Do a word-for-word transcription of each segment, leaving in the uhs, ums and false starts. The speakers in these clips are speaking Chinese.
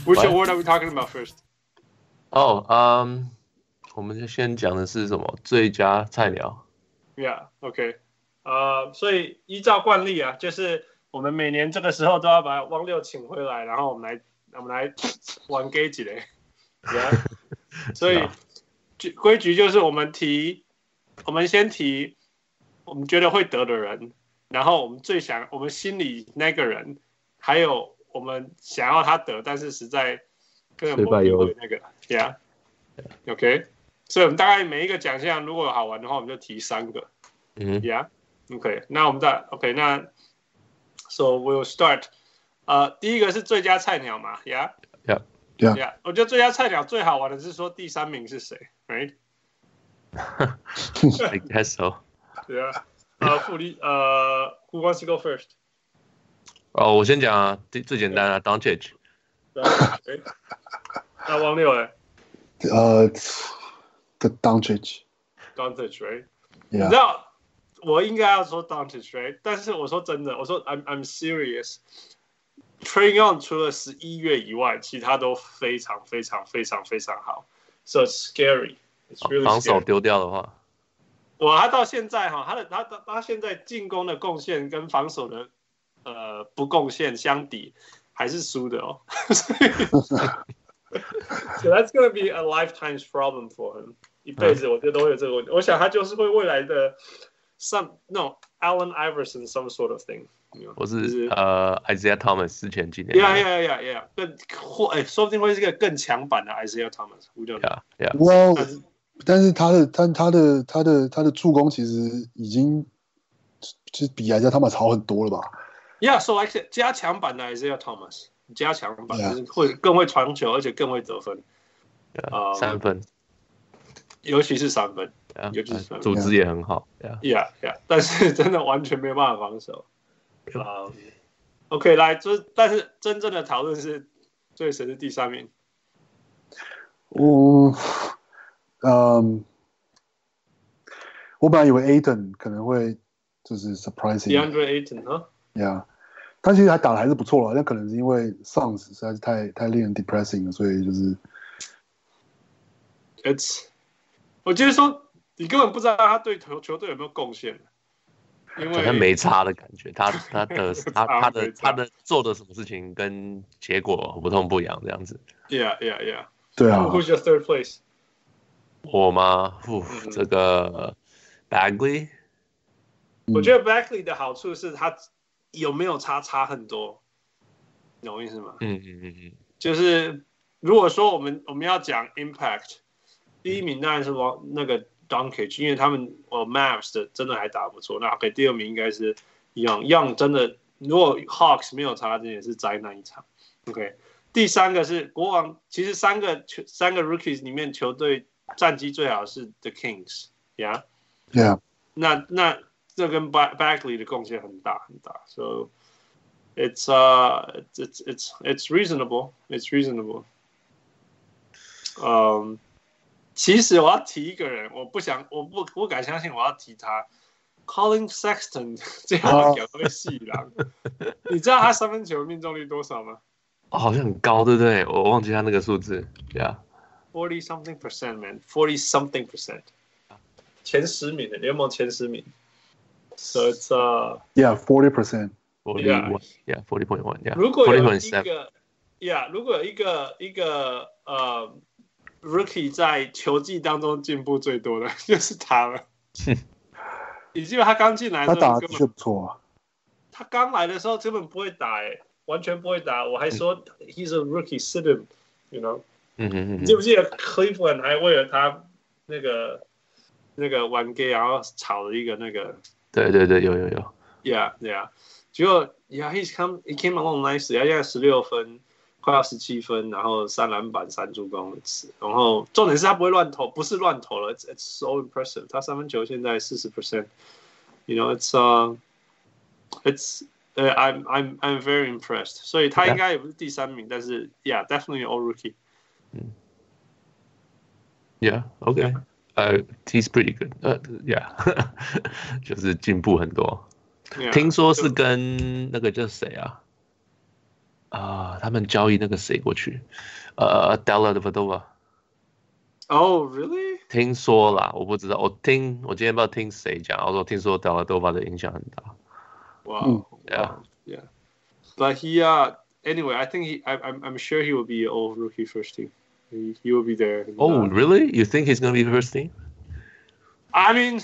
Which award are we talking about first? 哦，嗯，我们就先講的是什麼？最佳菜鳥。 Yeah, OK. 呃，所以依照慣例啊，就是我們每年這個時候都要把汪六請回來，然後我們來我們來玩 gay 幾嘞。Yeah. 所以規矩就是我們提，我們先提我們覺得會得的人，然後我們最想我們心裡那個人，還有我們想要他得，但是實在根本不會那個。Yeah. OK. 所以我們大概每一個獎項如果好玩的話，我們就提三個。 嗯 Yeah. OK. 那我們再 OK. 那 So we'll start. 呃，第一個是最佳菜鳥嘛 ？Yeah. Yeah. Yeah. Yeah. 我覺得最佳菜鳥最好玩的是說第三名是誰 ，Right? I guess so. Yeah. 呃，傅立呃 ，Who wants to go first? 哦，我先講啊，最最簡單啊 ，Doncic。 Okay. 那汪六嘞？ 呃、uh, ，Doncic。 Doncic, right? Yeah. 你知道我應該要說 Doncic, right? 但是我說真的，我說 I'm I'm serious. Trae Young 除了十一月以外，其他都非常非常非常非常好。So it's scary. It's really scary. 防守丟掉的話， 我他到現在哈，他的他他現在進攻的貢獻跟防守的呃不貢獻相比，還是輸的哦。So that's gonna be a lifetime's problem for him. 一輩子我覺得都會有這個問題。我想他就是會未來的 some no Allen Iverson some sort of thing。 我是呃 Isaiah Thomas 之前幾年。 Yeah yeah yeah yeah。更或哎，說不定會是一個更強版的 Isaiah Thomas。We don't know. Yeah yeah。 Well， 但是他的他他的他的他的助攻其實已經就是比 Isaiah Thomas 好很多了吧 ？Yeah，so like 加強版的 Isaiah Thomas。加強版就是會更會傳球，而且更會得分。 Yeah, 嗯、三分， 尤其是三分， yeah, 尤其是三分， 組織也很好。Yeah, yeah, yeah. 但是真的完全沒有辦法防守。Um, OK， 來，就但是真正的討論是，最誰是第三名？ 我，嗯，我本來以為 Ayton 可能會就是 surprising。DeAndre Ayton 哈 ，Yeah。他其實還打得還是不錯了，但可能是因為 Suns 實在是太太令人 depressing 了，所以就是 ，It's， 我就是說，你根本不知道他對球球隊有沒有貢獻，因為好像沒差的感覺，他他的他他的他的做的什麼事情跟結果不痛不癢這樣子。 Yeah yeah yeah。 對啊。 Who's your third place？ 我嗎？嗯、這個 Bagley。 我覺得 Bagley 的好處是他。有沒有差差很多？你懂我意思嗎？ 嗯嗯嗯嗯， 就是如果說我們我們要講 impact， 第一名當然是王那個 Doncic， 因為他們哦 Mavs 的真的還打得不錯。那 OK， 第二名應該是 Young，Young 真的如果 Hawks 沒有差，這也是災難一場。OK， 第三個是國王，其實三個球三個 Rookies 裡面球隊戰績最好是 The Kings，Yeah，Yeah，、 yeah? 那那。這跟 Bagley 的貢獻很大很大 ，so it's uh it's it's it's reasonable, it's reasonable. 嗯、um, 其實我要提一個人，我不想，我不不敢相信我要提他 ，Colin Sexton 這樣講會細狼。你知道他三分球命中率多少嗎？ 哦，好像很高，對不對？我忘記他那個數字 ，Yeah，forty something percent man, forty something percent， 前十名的聯盟前十名。So it's uh yeah forty percent forty one yeah forty point one yeah 如果有一個 yeah 如果有一個一個呃 rookie 在球季當中進步最多的就是他了。你記得他剛進來的時候他打的確不錯啊。 他剛來的時候根本不會打哎、欸，完全不會打。我還說 he's a rookie sit him you know 嗯嗯嗯。 你記不記得 Cleveland 還為了他那個那個玩 gay 然後炒了一個那個。 對對對，有有有。 Yeah, yeah. 結果 Yeah, he's come, he came along nicely. 他現在十六分，快要十七分，然後三籃板、三助攻，然後重點是他不會亂投，不是亂投了。It's, it's so impressive. 他三分球現在四十 percent. You know, it's uh, it's uh, I'm I'm I'm very impressed. 所以他應該也不是第三名， yeah. 但是 Yeah, definitely all rookie. Yeah, okay. Yeah. 呃、uh, ，He's pretty good. 呃、uh, ，Yeah， 就是進步很多。Yeah, 聽說是跟那個叫誰啊？ 啊、呃，他們交易那個誰過去，呃 ，Dellavedova。Oh, really？ 聽說啦，我不知道，我聽我今天不知道聽誰講，我說聽說 Dellavedova 的影響很大。 Wow, yeah, yeah. But he, uh, anyway, I think he, I, I'm, I'm sure he will be all rookie first team. He, he will be there. Oh, uh, really? You think he's gonna be first team? I mean,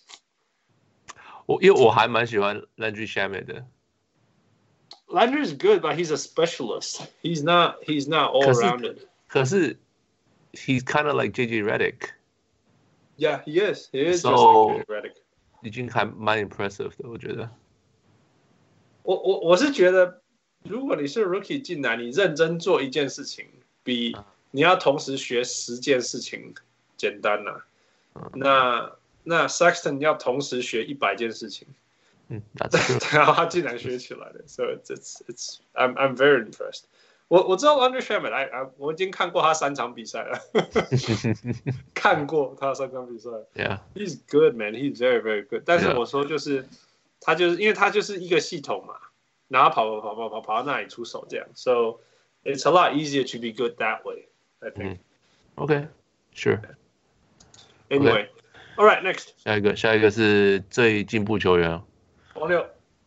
我因為我還蠻喜歡 Landry Shamet 的。 Landry is good, but he's a specialist. He's not. He's not all rounded. 可是 he's kind of like J J Redick. Yeah, he is. He is so, just like J J Redick. 已經還蠻 impressive 的，我覺得。 我我我是覺得，如果你是 rookie 進來，你認真做一件事情，比你要同時學十件事情簡單吶、啊。嗯、那那 Sexton 要同時學一百件事情。 嗯， 然後他竟然學起來了 ，so it's it's it's I'm I'm very impressed 我。我我知道 Landry Shamet， I, I 我已經看過他三場比賽了，看過他三場比賽。 Yeah, he's good, man. He's very very good. 但是我說就是， yeah. 他就是因為他就是一個系統嘛，然後跑跑跑跑跑跑到那裡出手這樣 ，so it's a lot easier to be good that way. I think.、嗯、 okay, sure. Anyway, okay. all right, next. 下一個下一個是最進步球員。 王六，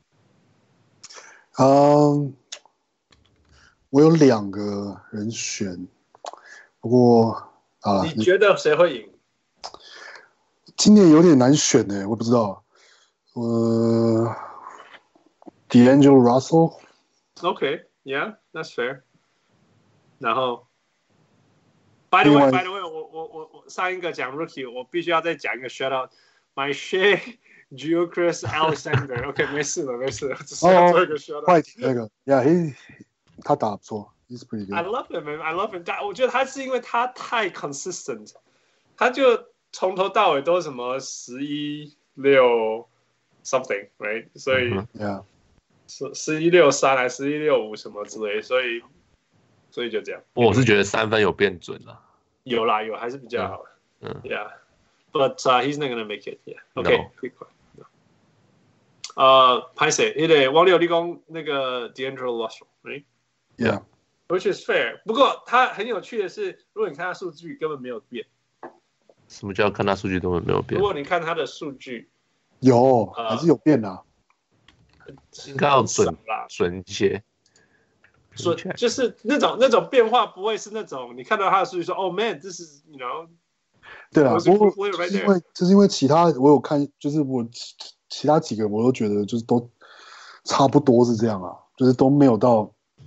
嗯，我有兩個人選，不過啊， 你覺得誰會贏？ 今年有點難選呢，我不知道。呃 ，D'Angelo Russell。Okay, yeah, that's fair. 然後 ，By the way, by the way， 我我我我上一個講 Rookie， 我必須要再講一個 shout out，My Shea。Gilgeous Alexander， OK， 沒事了，沒事了，只是要做一個 shout out。 快艇那個 ，Yeah，he， 他打不錯 ，He's pretty good。I love him, man. I love him。但我覺得他是因為他太 consistent， 他就從頭到尾都什麼十一六 something，right？ 所以 ，Yeah， 十十一六三還十一六五什麼之類，所以所以就這樣。 我是覺得三分有變準了， 有啦有，還是比較好。 嗯 ，Yeah。But、uh, he's not gonna make it. Yeah. Okay. No. 呃，拍誰？那個王六立功那個 D'Angelo Russell，right? Yeah. Which is fair. 不過他很有趣的是，如果你看他數據根本沒有變。 什麼叫看他數據根本沒有變？ 如果你看他的數據， 有、呃、還是有變啊。 應該要準啦，準一些。 準就是那種那種變化不會是那種你看到他的數據說，Oh man，this is you know。 對啊，不過就是因為就是因為其他我有看，就是我其其他幾個我都覺得就是都差不多是這樣啊，就是都沒有到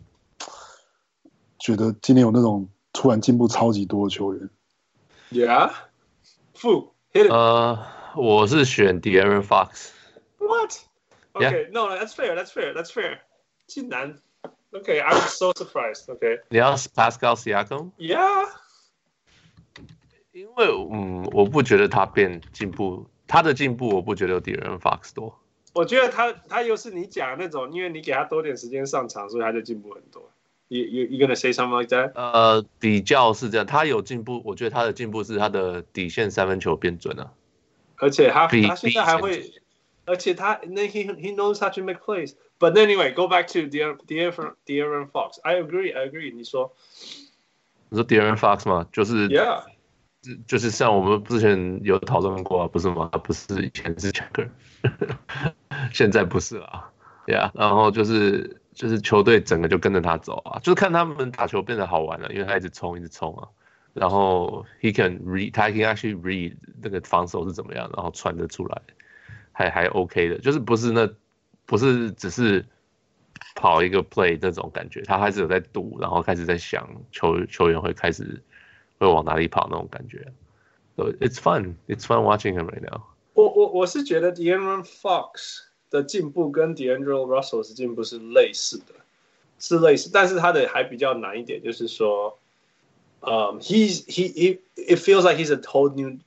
覺得今年有那種突然進步超級多的球員。 Yeah， 負 hit it。 呃，我是選 De'Aaron Fox。What？ Okay, no, that's fair, that's fair, that's fair. 竟然 ，Okay, I'm so surprised. Okay， 你要 Pascal Siakam？Yeah。因為嗯，我不覺得他變進步，他的進步我不覺得有 De'Aaron Fox 多。 我覺得他他又是你講的那種，因為你給他多點時間上場，所以他就進步很多。You you you gonna say something like that？ 呃，比較是這樣，他有進步，我覺得他的進步是他的底線三分球變準了， 而且他他現在還會，而且他那 he he knows how to make plays. But anyway, go back to De'Aaron De'Aaron Fox. I agree, I agree. 你說， 你說 De'Aaron Fox 嗎？就是 ，Yeah。 就是像我們之前有討論過、啊，不是嗎？他不是以前是 checker， 現在不是了，對啊。然後就是就是球隊整個就跟着他走啊，就是看他們打球變得好玩了，因為他一直衝一直衝啊。然後 he can read， 他 can actually read 那個防守是怎麼樣，然後傳得出來，還還 OK 的，就是不是那不是只是跑一個 play 那種感覺，他開始有在讀，然後開始在想球球員會開始。會往哪裡跑那種感覺 ，so it's fun, it's fun watching him right now。 我我我是覺得 De'Aaron Fox 的進步跟 D'Angelo Russell 的進步是類似的，是類似，但是他的還比較難一點，就是說，嗯、um, ，he's he he it feels like he's a whole new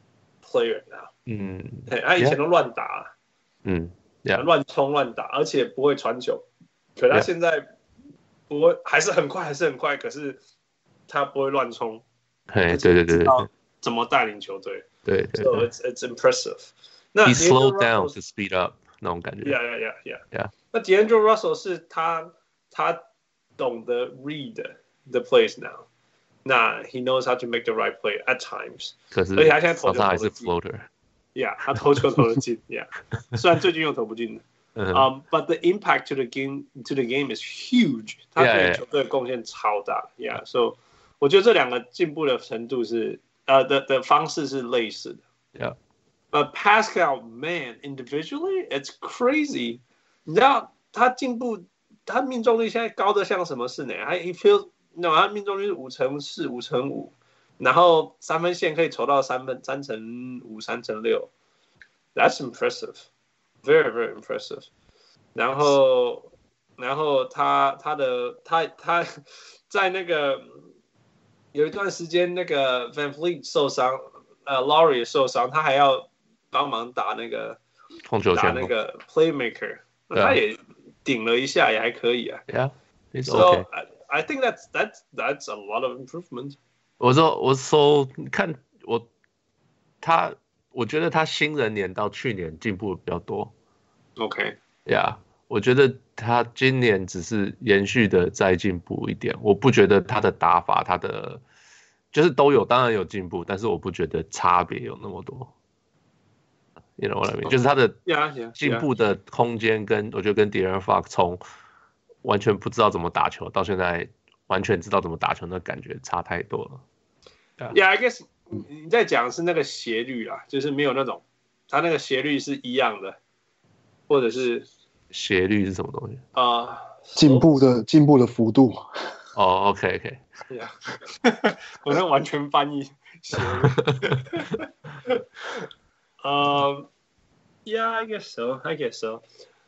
player now。嗯，他以前都亂打， 嗯， 亂衝亂打，而且不會傳球，可他現在不會，還是很快，還是很快，可是他不會亂衝。 對對對對對， 怎麼帶領球隊？ 對對 ，So it's it's impressive。那 He slowed down to speed up 那種感覺。 Yeah yeah yeah yeah yeah。 那 D'Angelo Russell 是他他懂得 read the plays now， 那 he knows how to make the right play at times。 可是， 而且他现在投球投还是 floater。Yeah， 他投球投得進。Yeah， 雖然最近又投不進的。Um, but the impact to the game to the game is huge。他對球隊的貢獻超大。Yeah， so 我覺得這兩個進步的程度是呃的的方式是類似的。 Yeah。 But Pascal, man, individually, it's crazy。你知道他進步，他命中率現在高的像什麼事呢？他 he feels no， 他命中率是五成四、五成五，然後三分線可以投到三分三成五、三成六。That's impressive, very very impressive。然後，然後他他的他他在那個有一段時間，那個 Van Vliet 受傷，呃 ，Lowry 受傷，他還要幫忙打那個打那個 playmaker， 他也頂了一下，也還可以啊。 Yeah, it's so okay. I, I think that's that's that's a lot of improvement。 我說我說看我他，我覺得他新人年到去年進步比較多。 OK。Yeah， 我覺得他今年只是延續的再進步一點，我不覺得他的打法，他的就是都有，當然有進步，但是我不覺得差別有那麼多。You know what I mean？、Oh. 就是他的進步的空間跟，跟我覺得跟 De'Aaron Fox 從完全不知道怎麼打球到現在完全知道怎麼打球，那感覺差太多了。 Yeah, yeah I guess 你在講的是那個斜率啦，就是沒有那種他那個斜率是一樣的，或者是斜率是什麼東西啊？ 進、uh, 步的進步的幅度。 哦、oh, ，OK OK。 Yeah， 我能完全翻譯斜率。Um, yeah, I guess so. I guess so.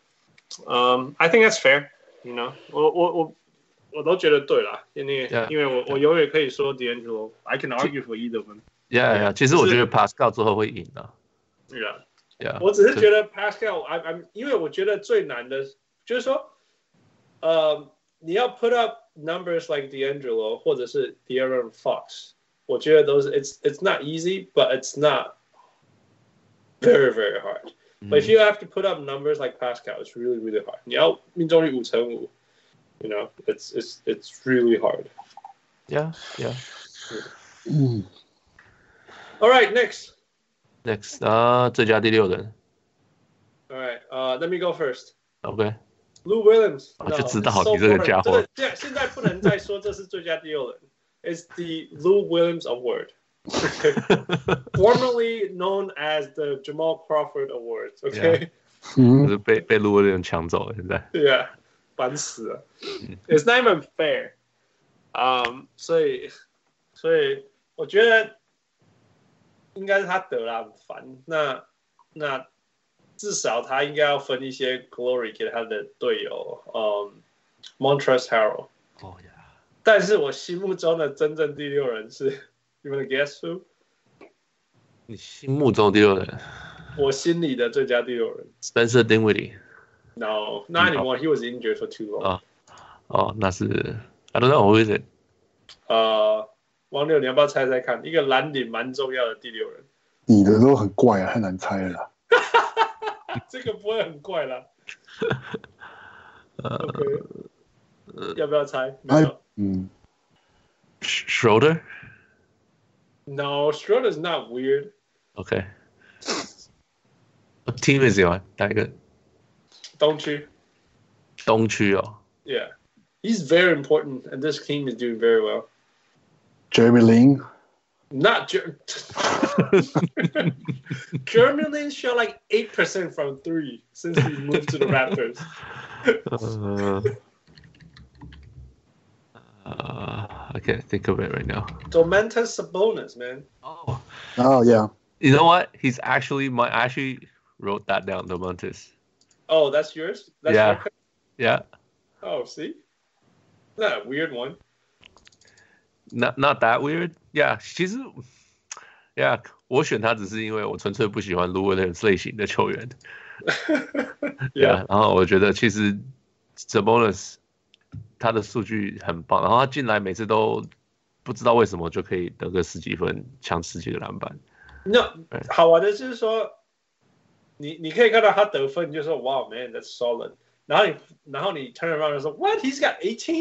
Um, I think that's fair. You know, 我我我我都覺得對啦，因為 yeah, 因為我 yeah. 我永遠可以說 D'Angelo. I can argue for either of them. Yeah, yeah. 其實我覺得 Pascal 最後會贏的。 Yeah, yeah. 我只是覺得 Pascal, I, I'm 因為我覺得最難的就是說，呃，你要 put up numbers like D'Angelo 或者是 De'Aaron Fox， 我覺得都是 it's it's not easy, but it's not.Very, very hard. But if you have to put up numbers like Pascal, it's really, really hard. 你要命中率五成五 you know, it's it's it's really hard. Yeah, yeah. Mm. All right, next. Next, 啊、uh, ，最佳第六人。 All right, uh, let me go first. OK. Lou Williams. 我就知道 no, 你這個家伙。 這個現在不能再說這是最佳第六人。It's the Lou Williams Award.Okay. Formerly known as the Jamal Crawford Awards. Okay. Yeah. 就是被被路威廉搶走了，現在。 Yeah， 煩死了。It's not even fair. Um, 所以所以我覺得應該是他得了，很煩。那那至少他應該要分一些 glory 給他的隊友，嗯、um, ，Montrezl Harrell。 Oh yeah. 但是我心目中的真正第六人是。You wanna guess who？ 你心目中第六人？ 我心裡的最佳第六人 ，Spencer Dinwiddie。 No, not anymore. He was injured for too long. 哦，哦，那是 I don't know who is it？ 呃，王六，你要不要猜猜看？一個藍領蠻重要的第六人。 你的都很怪啊，太難猜了啦。 這個不會很怪啦。OK，、呃、要不要猜？沒有。 嗯。 Schroeder? No, Schroeder's not weird. Okay. What team is he on? 哪一個？ 東區。 東區哦。 Yeah, he's very important, and this team is doing very well. Jeremy Lin? Not Jer- Jeremy Lin shot like eight percent from three since he moved to the Raptors. uh... Uh, I can't think of it right now. Domantas Sabonis, man. Oh. Oh, yeah. You know what? He's actually my I actually wrote that down, Domantas. Oh, that's yours? That's yeah. Your yeah. Oh, see? Not a weird one. Not not that weird. Yeah, 其實 Yeah, 我選他只是因為我純粹不喜歡 Lou Williams 類型的球員。yeah, 然後我覺得其實 Sabonis他的數據很棒，然後他進來每次都不知道為什麼就可以得個十幾分，搶十幾個籃板。 那好玩的就是說，你你可以看到他得分，你就說 Wow man, that's solid。然後你然後你 turn around 就說 What? He's got eighteen?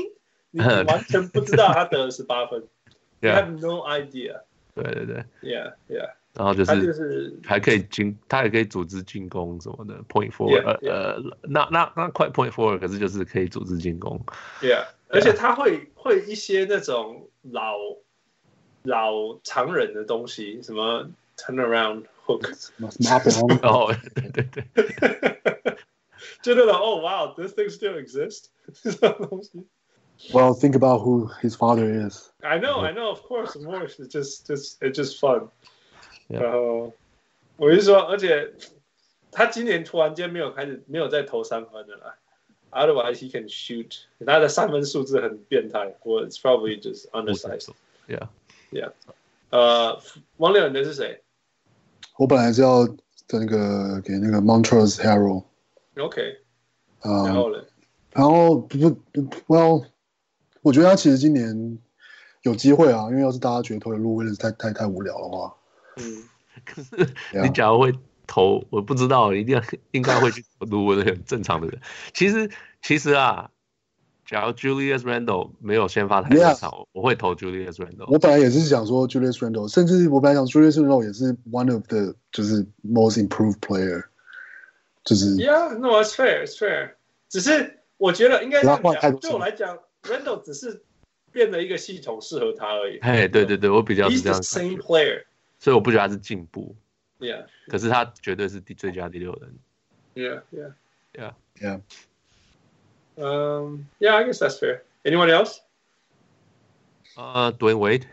你完全不知道他得了十八分。You Yeah. have no idea. 对对对 Yeah, yeah. 然后就他就是是还可以进，他也可以組織進攻什麼的 ，point forward， Yeah, 呃 yeah. 呃，那那那快 point forward， 可是就是可以組織進攻。 Yeah， 而且他會會一些那種老老常人的東西，什麼 turnaround hook， 哦，對對對， 就那種哦，哇 ，this thing still exists 這種東西。 Well, think about who his father is. I know, I know, of course, of course. It's just, just, it's just fun. Yeah. 然後我是說，而且他今年突然間沒有開始，沒有再投三分的啦。Otherwise, he can shoot. 他的三分數字很變態。Well, it's probably just undersized. Yeah, yeah. 呃，王六，你的是誰？ 我本來是要那個給那個 Montrezl Harrell。OK。 嗯，然後呢？ 然後不不 ，Well。我覺得他其實今年有機會啊，因為要是大家覺得投的路威廉太太太無聊的話， 嗯，可是你假如會投， yeah. 我不知道，一定要應該會去投路威廉，正常的人。其實其實啊，假如 Julius Randle 沒有先發太多場， yeah. 我會投 Julius Randle。 我本來也是想說 Julius Randle， 甚至我本來想 Julius Randle 也是 one of the 就是 most improved player， 就是。 Yeah, no, it's fair, it's fair。只是我覺得應該這樣講，對我來講。Randle 只是變了一個系統適合他而已。 哎，對對對，我比較是這樣。 He's the same player， 所以我不覺得他是進步。 Yeah， 可是他絕對是第最佳第六人。 Yeah, yeah, yeah, yeah. Um, yeah, I guess that's fair. Anyone else? Uh, Dwayne Wade.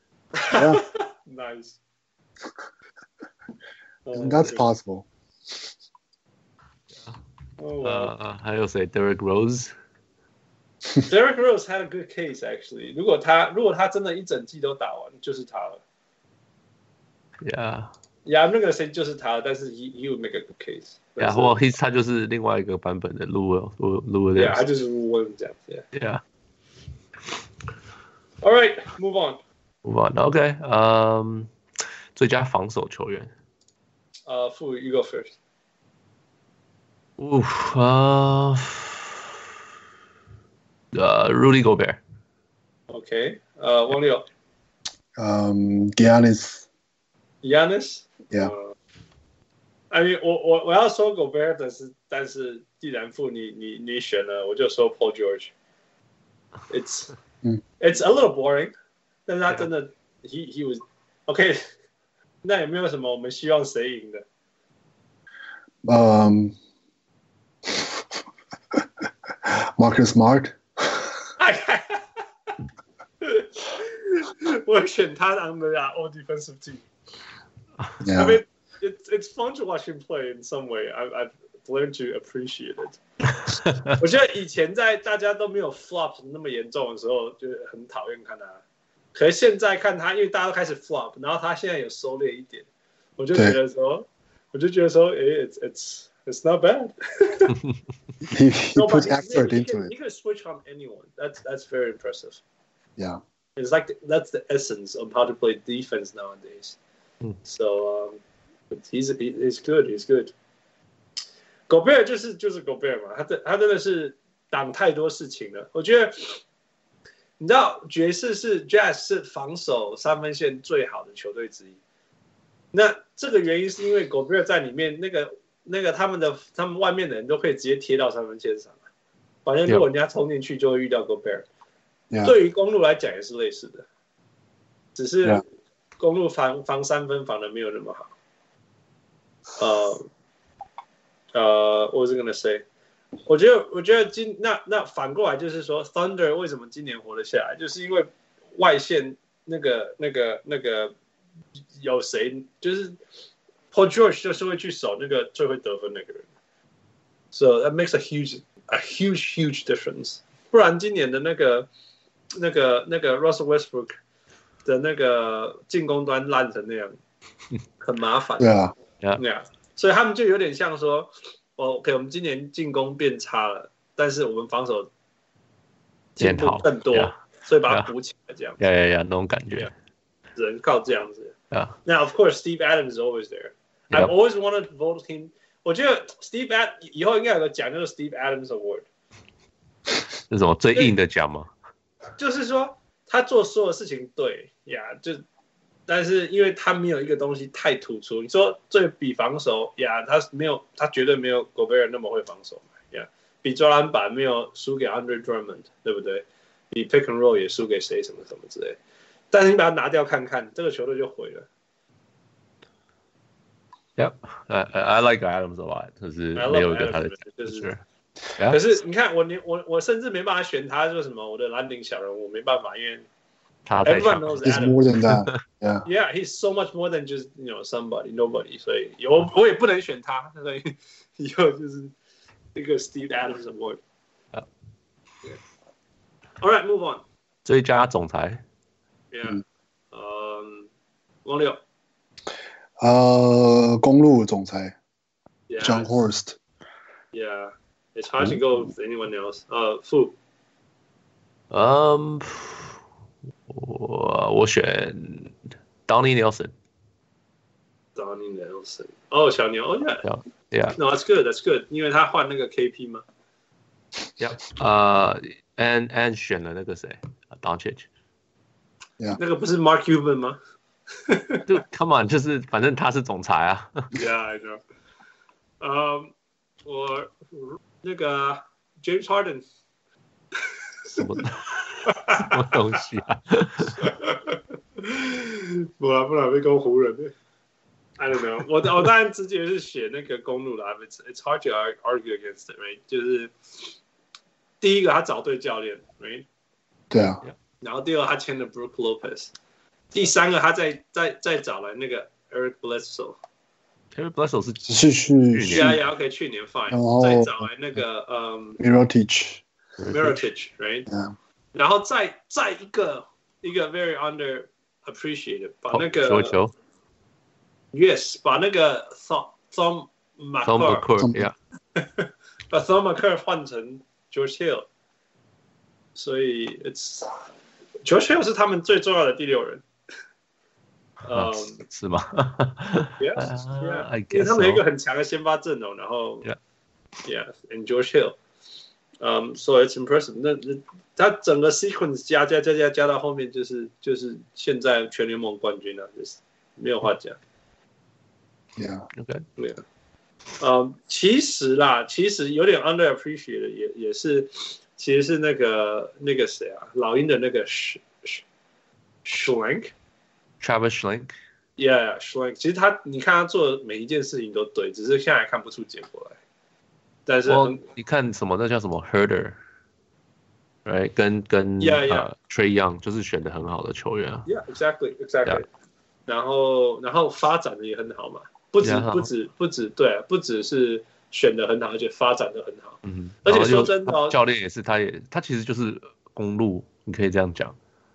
Nice. That's possible. Oh, wow. 呃，還有誰 ？Derrick Rose。Derrick Rose had a good case actually. 如果他如果他真的一整季都打完，就是他了。 Yeah. Yeah, 那個誰就是他，但是 he he would make a good case. Yeah, 或 he 他就是另外一個版本的 Lou Lou Lou Yeah, 他就是 Lou Williams 這樣子。 Yeah. All right, move on. Move on. OK. 嗯，最佳防守球員。 呃，傅 you go first. Oof. 啊。Uh, Rudy Gobert. Okay. Uh, 王六。 Um, Giannis. Giannis. Yeah. Uh, I mean, 我我我要說 Gobert， 但是但是既然傅你你你選了，我就說 Paul George. It's it's a little boring， 但是他真的 he he was okay。那有沒有什麼我們希望誰贏的？ 嗯、um,，Marcus Smart。 我選他 on the all defensive team. Yeah. I mean, it's it's fun to watch him play in some way. I've I've learned to appreciate it. 我覺得以前在大家都沒有 flop 那麼嚴重的時候，就很討厭看他。可是現在看他，因為大家都開始 flop， 然後他現在有收斂一點，我就覺得說，我就覺得說，哎 ，it's it's it's not bad. he he no, puts effort he, he into can, it. He can switch on anyone. That's that's very impressive. Yeah. It's like the, that's the essence of how to play defense nowadays. Mm. So um, but he's he's good. He's good. Gobert 就是就是 Gobert 嘛，他的他真的是擋太多事情了。我覺得你知道爵士是 Jazz 是防守三分線最好的球隊之一。那這個原因是因為 Gobert 在裡面，那個那個他們的他們外面的人都可以直接貼到三分線上。反正如果人家衝進去，就會遇到 Gobert。Yeah. 對於公鹿來講也是類似的，只是公鹿防防三分防的沒有那麼好。呃呃，我是 gonna say， 我覺得我覺得今那那反過來就是說 ，Thunder 為什麼今年活得下來，就是因為外線那個那個那個有誰，就是 Paul George 就是會去守那個最會得分那個人 ，so that makes a huge a huge huge difference。不然今年的那個。那個那個 Russell Westbrook 的那個進攻端爛成那樣，很麻煩。 對啊， 對啊，所以他們就有點像說，哦 ，OK， 我們今年進攻變差了，但是我們防守進步更多，所以把它補起來，這樣。 呀呀呀，那種感覺， 只能靠這樣子。 Yeah. Now, of course, Steve Adams is always there. I've always wanted to vote him. 我覺得 Steve Ad 以後應該有個獎，就是 Steve Adams Award。 是什麼最硬的獎嗎？ 就是說他做所有事情對呀， yeah, 就但是因為他沒有一個東西太突出。你說最比防守呀， yeah, 他沒有，他絕對沒有 Gobert 那麼會防守呀。Yeah, 比抓籃板沒有輸給 Andre Drummond， 對不對？比 Pick and Roll 也輸給誰什麼什麼之類。但是你把它拿掉看看，這個球隊就毀了。 Yep, I, I like Adams a lot， 就是沒有一個他的就是。可是你看我我我甚至沒辦法選他，說什麼我的藍領小人物，沒辦法，因為他太強。 He's more than that. Yeah. Yeah, he's so much more than just you know somebody, nobody. 所以我我也不能選他，所以以後就是一個 Steve Adams Award. Yeah. All right, move on. 最佳總裁。 Yeah. 嗯，王六。 呃，公路總裁 yeah, John Horst. Yeah, it's hard to go with anyone else. 呃，傅。 嗯，我我選 Donnie Nelson。Donnie Nelson. 哦，小牛。哦 ，Yeah. Yeah. No, that's good. That's good. 因為他換那個 K P 嗎 ？Yeah. 呃 ，and and 選了那個誰 ，Doncic。Yeah. 那個不是 Mark Cuban 嗎？ 就 Come on， 就是反正他是總裁啊。 Yeah, I know. 呃、um, ，我那個 James Harden 什麼什麼東西啊？ 不然不然被攻湖人。I don't know 我。我我當然直接是選那個公路啦。It's it's hard to argue against it, right？ 就是第一個他找對教練 ，right？ 對啊。 然後第二個他簽了 Brook Lopez。第三個，他再再再找來那個 Eric Bledsoe。Eric Bledsoe 是是去年，呀呀 ，OK， 去年 fine， 再找來那個嗯 Mirotic，Mirotic，right？ 然後再再一個一個 very underappreciated， 把那個球球 ，Yes， 把那個 Thom Thom McCur， 把 Thom McCur 換成 George Hill， 所以 it's George Hill 是他們最重要的第六人。 嗯，是嗎 ？Yeah, yeah. 因為他們有一個很強的先發陣容，然後 ，Yeah, yeah, and George Hill， um, so it's impressive. 那那他整個 sequence 加加加加加到後面，就是就是現在全聯盟冠軍了，就是沒有話講。 Yeah, OK, yeah. 嗯，其實啦，其實有點 underappreciated， 也也是，其實是那個那個誰啊，老鷹的那個 Schlenk。 Travis Schlenk, yeah, Schlenk. 其實他，你看他做的每一件事情都對，只是現在看不出結果來。但是， 你看什麼？那叫什麼 Herder， right？ 跟跟 yeah, yeah. 呃 Trae Young 就是選的很好的球員啊。 Yeah, exactly, exactly. Yeah. 然後，然後發展的也很好嘛，不止 yeah, 不止不止對，不只是選的很好，而且發展的很好。 嗯， 而且說真的、哦， 教練也是，他也他其實就是公路，你可以這樣講。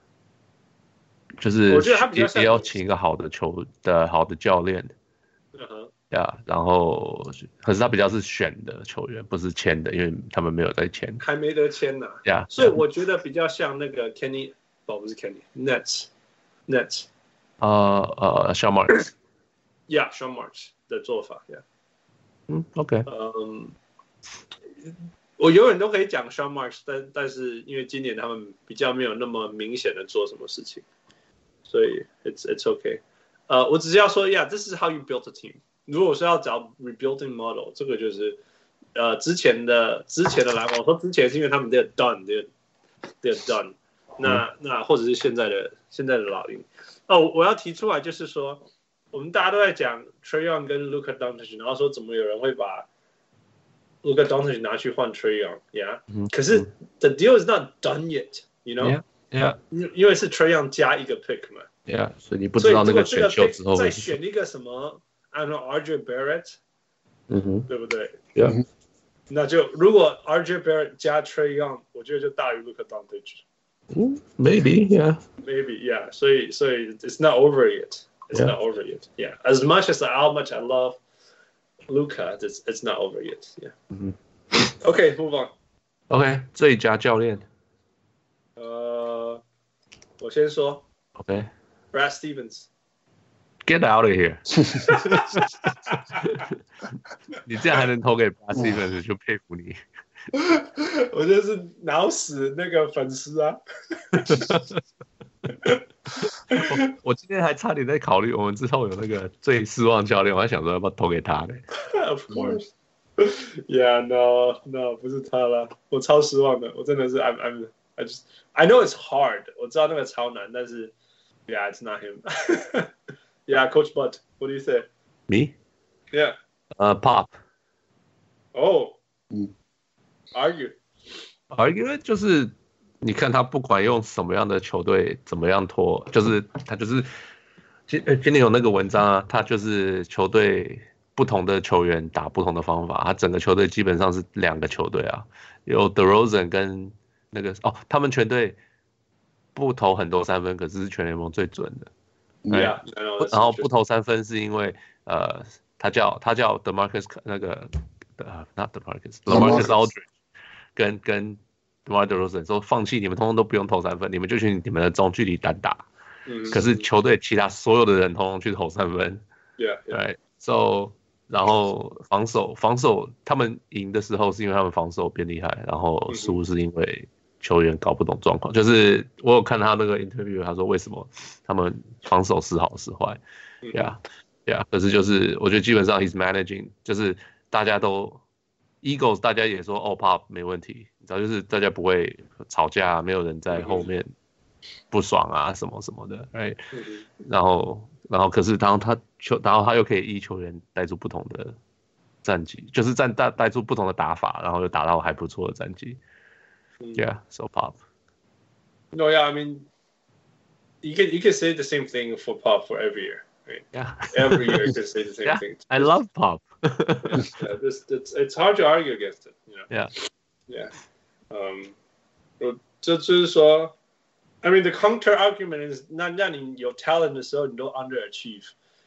就是我覺得他比較像也要請一個好的球的好的教練， 嗯哼， 呀，然後可是他比較是選的球員，不是簽的，因為他們沒有在簽， 還沒得簽呢， 呀， 所以我覺得比較像那個 Kenny， 哦不是 Kenny，Nets，Nets， 呃呃 Sean Marks，yeah Sean Marks 的做法，呀， 嗯 ，OK， 嗯，我永遠都可以講 Sean Marks， 但但是因為今年他們比較沒有那麼明顯的做什麼事情。所以 it's it's okay， 呃，我只是要說 ，Yeah，this is how you build a team。如果是要找 rebuilding model， 這個就是呃之前的之前的籃網，我說之前是因為他們 they're done，they're they're done 那。那那或者是現在的現在的老鷹。哦，我要提出來就是說，我們大家都在講 Trae Young 跟 Luka Doncic， 然後說怎麼有人會把 Luka Doncic 拿去換 Trae Young，Yeah，、嗯、可是 the deal is not done yet，you know。Yeah， 因為是 Trae Young 加一個 pick 嘛 ，Yeah， 所以你不知道那個選秀之後再選一個什麼 ，I don't know R J Barrett， 嗯哼， 對不對 ？Yeah， 那就如果 R J Barrett 加 Trae Young， 我覺得就大於 Luka Doncic。 嗯 ，Maybe yeah，Maybe yeah， 所以所以 it's not over yet，it's yeah. not over yet，Yeah，as much as how much I love Luka，it's it's not over yet，Yeah。 嗯 OK，move on。OK， 最佳教練。 呃，我先說 ，OK，Brad、 okay. Stevens，Get out of here 。你這樣還能投給 Brad Stevens，就佩服你。 我就是腦死那個粉絲啊。 我, 我今天還差點在考慮，我們之後有那個最失望教練，我還想說要不要投給他呢。 Of course. Yeah, no, no, 不是他了，我超失望的，我真的是 I'm, I'm, I just, I know it's hard， 我知道那個超難，但是 Yeah, it's not him. Yeah, Coach Butt, what do you say? Me? Yeah. Uh, Pop. Oh. Argue. Argue 就是你看他不管用什麼樣的球隊怎麼樣拖，就是他就是今今天有那個文章啊，他就是球隊不同的球員打不同的方法，他整個球隊基本上是兩個球隊啊，有 DeRozan 跟那個哦，他們全隊不投很多三分，可是是全聯盟最準的。 Yeah, 然後不投三分是因為呃，他叫他叫 DeMarcus 那個呃 not DeMarcus，LaMarcus Aldridge 跟跟 DeMar DeRozan 說放棄，你們通通都不用投三分，你們就去你們的中距離單打。嗯、可是球隊其他所有的人通通去投三分。 Yeah, yeah. Right, so 然後防守防守他們贏的時候是因為他們防守變厲害，然後輸是因為球員搞不懂狀況。就是我有看他那個 interview， 他說為什麼他們防守是好是壞。Yeah, yeah. 可是就是我覺得基本上 he's managing， 就是大家都 Eagles 大家也說哦 Pop 沒問題，你知道就是大家不會吵架，沒有人在後面不爽啊什麼什麼的。Right? 然後然後可是當他球，然後他又可以依球員帶出不同的戰績，就是帶帶帶出不同的打法，然後又打到還不錯的戰績。Yeah, so Pop. No, yeah, I mean, you can you can say the same thing for Pop for every year, right? Yeah, every year you can say the same yeah, thing. I love Pop. Yeah, this, it's it's hard to argue against it, you know. Yeah, yeah. Um, 这就是说 I mean, the counter argument is 那那你有 talent 的時候，你都 underachieve 。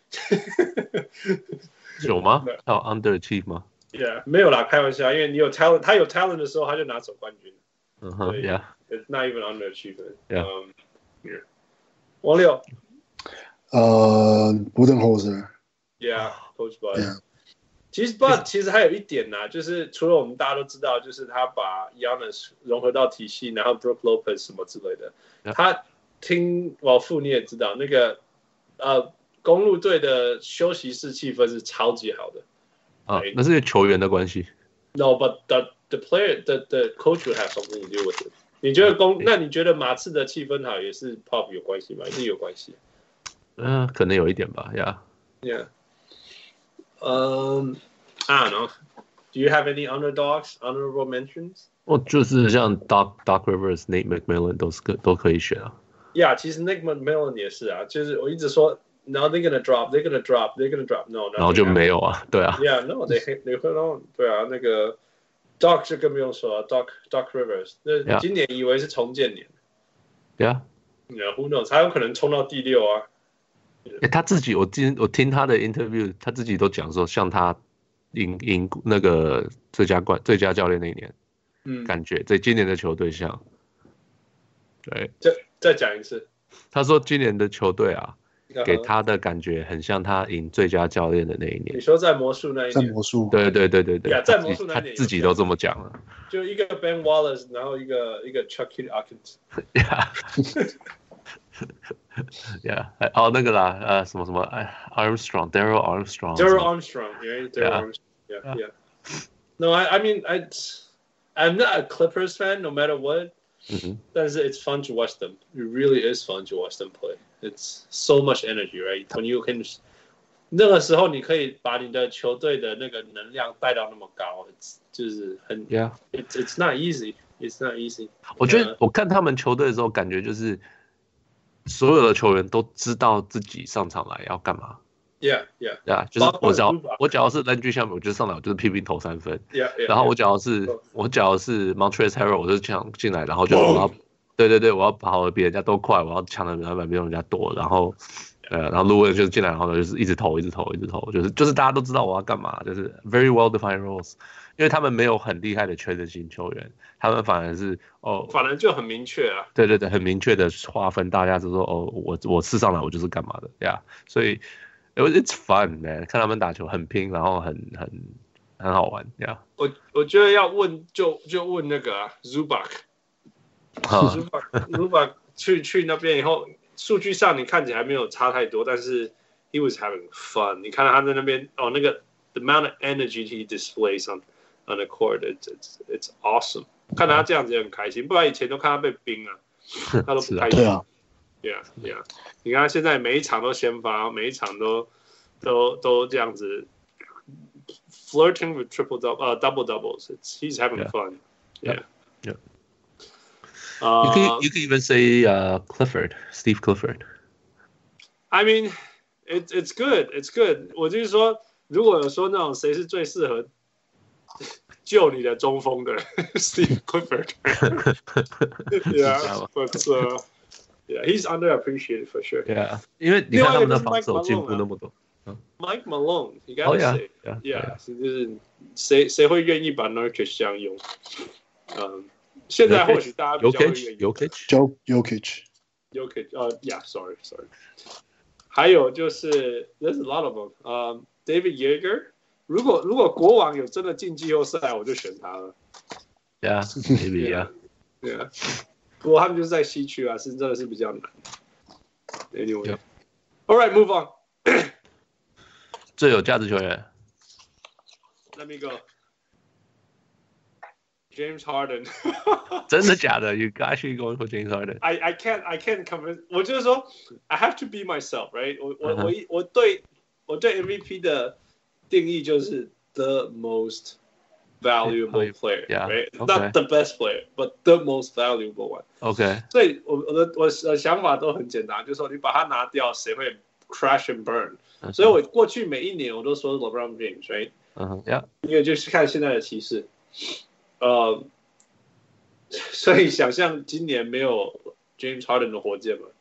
有嗎？他有 underachieve 嗎 ？Yeah， 沒有啦，開玩笑，因為你有 talent， 他有 talent 的時候，他就拿走冠軍。 嗯哼 ，Yeah， it's not even underachievement. Yeah. Um, yeah. 王六， 呃 ，Budenholzer。Yeah，Coach Bud。 Yeah. 其實 Bud 其實還有一點吶，就是除了我們大家都知道，就是他把 Giannis 融合到體系，然後 Brook Lopez 什麼之類的。Yeah. 他聽老傅你也知道，那個呃公鹿隊的休息室氣氛是超級好的。 啊，那是球員的關係。 No, but the the player, the the coach would have something to do with it. 你覺得公？那你覺得馬刺的氣氛好也是 Pop 有關係嗎？一定有關係。 嗯、呃，可能有一點吧。Yeah. Yeah. Um, I don't know. Do you have any underdogs, honorable mentions? 我就是像 Doc Doc Rivers、Nate McMillan 都是可都可以選啊。 Yeah， 其實 Nate McMillan 也是啊，就是我一直說 ，Now they're gonna drop, they're gonna drop, they're gonna drop. No, no. 然後就沒有啊，對啊。 Yeah, no, they they hold on. 對啊，那個 Doc 就更不用說了 ，Doc Doc Rivers， 那今年以為是重建年。 Yeah. Yeah, who knows？ 他有可能衝到第六啊。 欸、他自己，我聽我聽他的 interview， 他自己都講說，像他贏贏那個最佳冠最佳教練那一年，嗯，感覺在今年的球隊像，對， 再再講一次， 他說今年的球隊啊，給他的感覺很像他贏最佳教練的那一年。 你說在魔術那一年， 在魔術， 對對對對對， yeah, 在魔術那一年， 他自己都這麼講了， 就一個 Ben Wallace， 然後一個一個 Chucky Atkins。 Yeah， 哦，那個啦，呃，什麼什麼，哎 ，Armstrong，Daryl Armstrong，Daryl Armstrong，yeah，Daryl Armstrong，yeah，yeah。No, I, I mean, I, I'm not a Clippers fan, no matter what. 但是 it's fun to watch them. It really is fun to watch them play. It's so much energy, right? When you can, 那個時候你可以把你的球隊的那個能量帶到那麼高，就是很 ，Yeah， it's it's not easy. It's not easy. 我覺得我看他們球隊的時候，感覺就是所有的球員都知道自己上場來要幹嘛。 Yeah, yeah, yeah， 就是我只要我只要是 Landry Shamet， 我就上來我就是拼命投三分。 Yeah, yeah, 然後我只要是 yeah, 我只要是 Montrezl Harrell， 我就搶進來，然後就我要，對對對，我要跑得比人家都快，我要搶的籃板比人家多，然後呃，然後 Lou 就是進來，然後就是一直投，一直投，一直投，就是就是大家都知道我要幹嘛，就是 very well defined roles， 因為他們沒有很厲害的缺的型球員，他們反而是哦， 反而就很明確啊。 對對對，很明確的劃分，大家就說哦，我我試上來我就是幹嘛的呀， yeah, 所以。It's fun, man！ 看他們打球很拼，然後很很很好玩呀。Yeah. 我我覺得要問就就問那個啊 Zubac，Zubac 去去那邊以後，數據上你看起來沒有差太多，但是 he was having fun。你看到他在那邊哦，那個 the amount of energy he displays on on the court, it's it's it's awesome。看到他這樣子也很開心，不然以前都看他被冰啊，他都不開心。 啊 Yeah, yeah。你看他現在每一場都先發，每一場都都都這樣子。Flirting with triple double, uh, double doubles. It's he's having yeah. fun. Yeah, yeah. Uh, you can you can even say uh, Clifford, Steve Clifford. I mean, it's it's good, it's good. 我就是說，如果有說那種誰是最適合救你的中鋒的 Steve Clifford. Yeah, but uh, yeah, he's underappreciated for sure. Yeah, 因為你看他們的防守進步那麼多。 Mike Malone, you gotta oh, yeah. say, yeah, yeah, 就是誰誰會願意把 Nurkic 這樣用？嗯，現在或許大家比較會願意。 Jokic, Jokic, Jokic, 呃 ，Yeah, sorry, sorry. 還有就是 ，There's a lot of them. 呃 ，David Yeager. 如果如果國王有真的進季後賽，我就選他了。 Yeah, maybe, yeah. Yeah. 不過他們就是在西區啊，是真的是比較難。Anyway, yep. All right, move on. 最有價值球員 Let me go. James Harden. 真的假的 ？You actually going for James Harden? I I can't I can't convince. 我就是說 I have to be myself, right? 我我、uh-huh. 我我對我對 M V P 的定義就是 the most valuable player, yeah, right? Okay. Not the best player, but the most valuable one. OK. 所以我我的我的想法都很簡單，就是說你把它拿掉，誰會 crash and burn？Uh-huh. 所以我過去每一年我都說 LeBron James, right? 嗯、uh-huh. Yeah. 因為就是看現在的騎士。呃，所以想象今年沒有 James Harden 的火箭嘛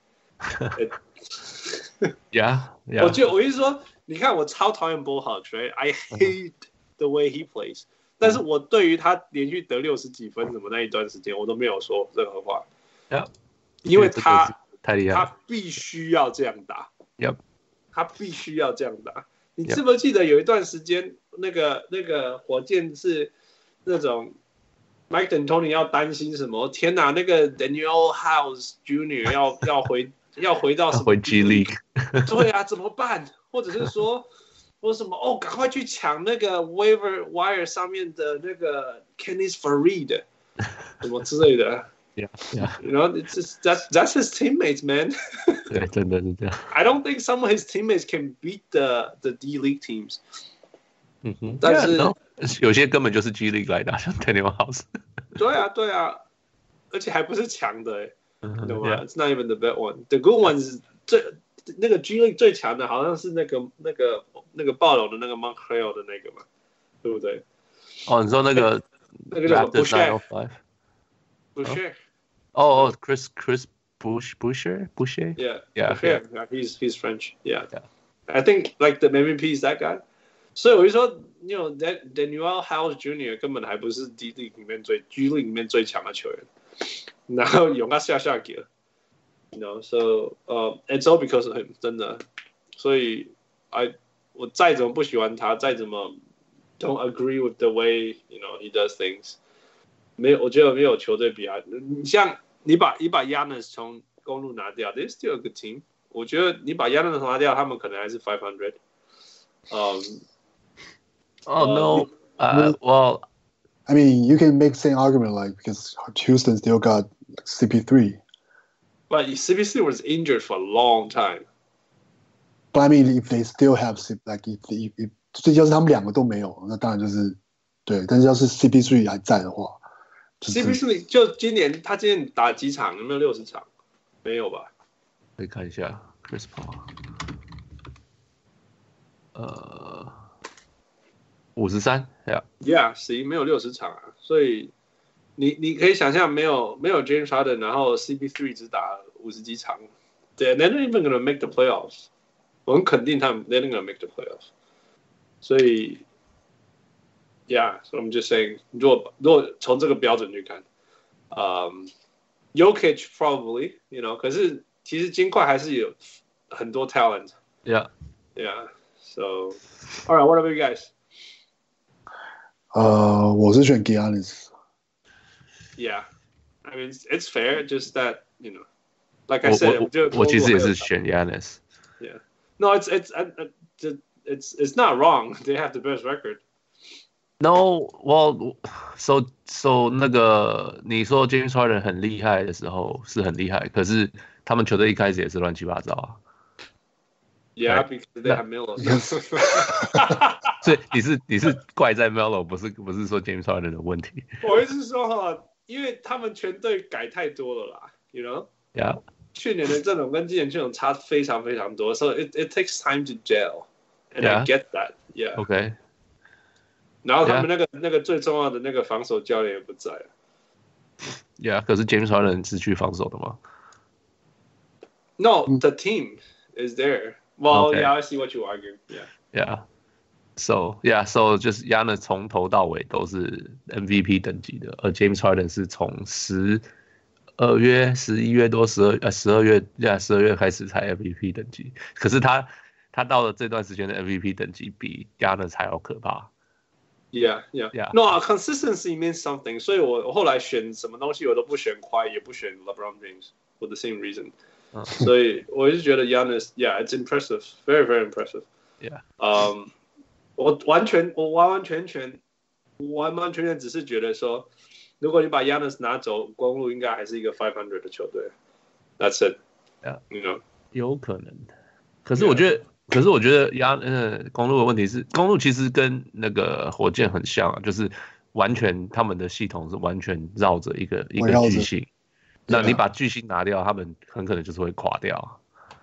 ？Yeah, yeah. 我就我意思說，你看我超討厭 Bull Hawks, right? I hate the way he plays. 但是我對於他連續得六十幾分什麼那一段時間，我都沒有說任何話。 Yeah. 因為他太厲害， 他必須要這樣打。 Yep. 他必須要這樣打。你記不記得有一段時間，那個那個火箭是那種。Mike D'Antoni 要擔心什麼？天哪，那個 Daniel House Junior 要要回要回到什麼？ 回 G League。 對啊，怎麼辦？或者是說，說什麼？哦，趕快去搶那個 waiver wire 上面的那個 Kenneth Faried， 什麼之類的。 Yeah, yeah. You know, it's just, that's that's his teammates, man. 對，真的是這樣。 I don't think some of his teammates can beat the the D League teams. 嗯哼， 但是。 Yeah, no. 有些根本就是 G League 來的，像 Daniel House。 對啊，對啊，而且還不是強的，哎，你懂嗎 yeah. ？It's not even the bad one. The good ones 最那個 G League 最強的，好像是那個那個那個暴龍的那個 Montreal 的那個嘛，對不對？ 哦，你說那個那個叫什麼 Boucher？Boucher？哦哦 ，Chris Chris Bush Boucher Boucher？ Yeah, yeah, yeah. He's he's French. Yeah, I think like the M V P is that guy. 所以我就說，你有 Daniel House Junior 根本還不是 D League 裡面最 G League 裡面最強的球員，然後勇他下下給了 ，you know, so 呃、uh, ，it's all because of him， 真的。所以 I 我再怎麼不喜歡他，再怎麼 don't agree with the way you know he does things， 沒有，我覺得沒有球隊比他。你像你把你把 Giannis 從公路拿掉 ，they're still a good team。我覺得你把 Giannis 拿掉，他們可能還是five hundred。嗯。 Oh no! Uh, well, I mean, you can make the same argument like because Houston still got C P three. But C P three was injured for a long time. But I mean, if they still have like if if if 所以要是他們兩個都沒有，那當然就是對。但是要是 C P three 還在的話、就是、 ，C P three 就今年他今年打幾場？有沒有六十場？沒有吧？ 可以看一下 Chris Paul。呃。五十三 ，Yeah， 十沒有六十場啊，所以你你可以想象沒有沒有 James Harden， 然後 C P three 只打五十幾場，對 ，They're not even gonna make the playoffs。我很肯定他們 They're not gonna make the playoffs。所以 ，Yeah，so I'm just saying， 如果如果從這個標準去看，嗯、um, ，Jokic probably，you know， 可是其實金塊還是有很多 talent。 Yeah，Yeah， so all right，what about you guys？ 呃，我是選 Giannis。 Yeah, I mean it's fair, just that you know, like I said, 我我我其實也是選 Giannis。 Yeah, no, it's it's it's it's not wrong. They have the best record. No, well, so so 那個你說 James Harden 很厲害的時候是很厲害，可是他們球隊一開始也是亂七八糟啊。 Yeah, because they have Melo. 所以你是你是怪在 Melo， 不是不是說 James Harden 的問題。 我意思是說哈，因為他們全隊改太多了啦 ，you know? Yeah. 去年的陣容跟今年陣容差非常非常多 ，so it it takes time to gel, and yeah. I get that. Yeah. OK. 然後他們那個、yeah. 那個最重要的那個防守教練也不在了。 Yeah， 可是 James Harden 是去防守的嗎 ？No, the team is there. Well, okay. yeah, I see what you argue. Yeah. Yeah. So yeah, so 就是 Giannis 從頭到尾都是 M V P 等級的，而 James Harden 是從十二月、十一月多、十二呃十二月呀十二月開始才 M V P 等級。可是他他到了這段時間的 M V P 等級比 Giannis 還要可怕。 Yeah, yeah, yeah. No, consistency means something. 所以我後來選什麼東西我都不選 Kawhi，也不選 LeBron James for the same reason. 所以我就覺得 Giannis, yeah, it's impressive, very, very impressive. Yeah. Um, 我完全我完完全全完完全全只是覺得說，如果你把 Giannis 拿走，公鹿應該還是一個五百的球隊。That's it. Yeah. You know. 有可能。可是我覺得。Yeah.可是我覺得壓呃公鹿的問題是，公鹿其實跟那個火箭很像啊，就是完全他們的系統是完全繞着一個一個巨星，那你把巨星拿掉，他們很可能就是會垮掉。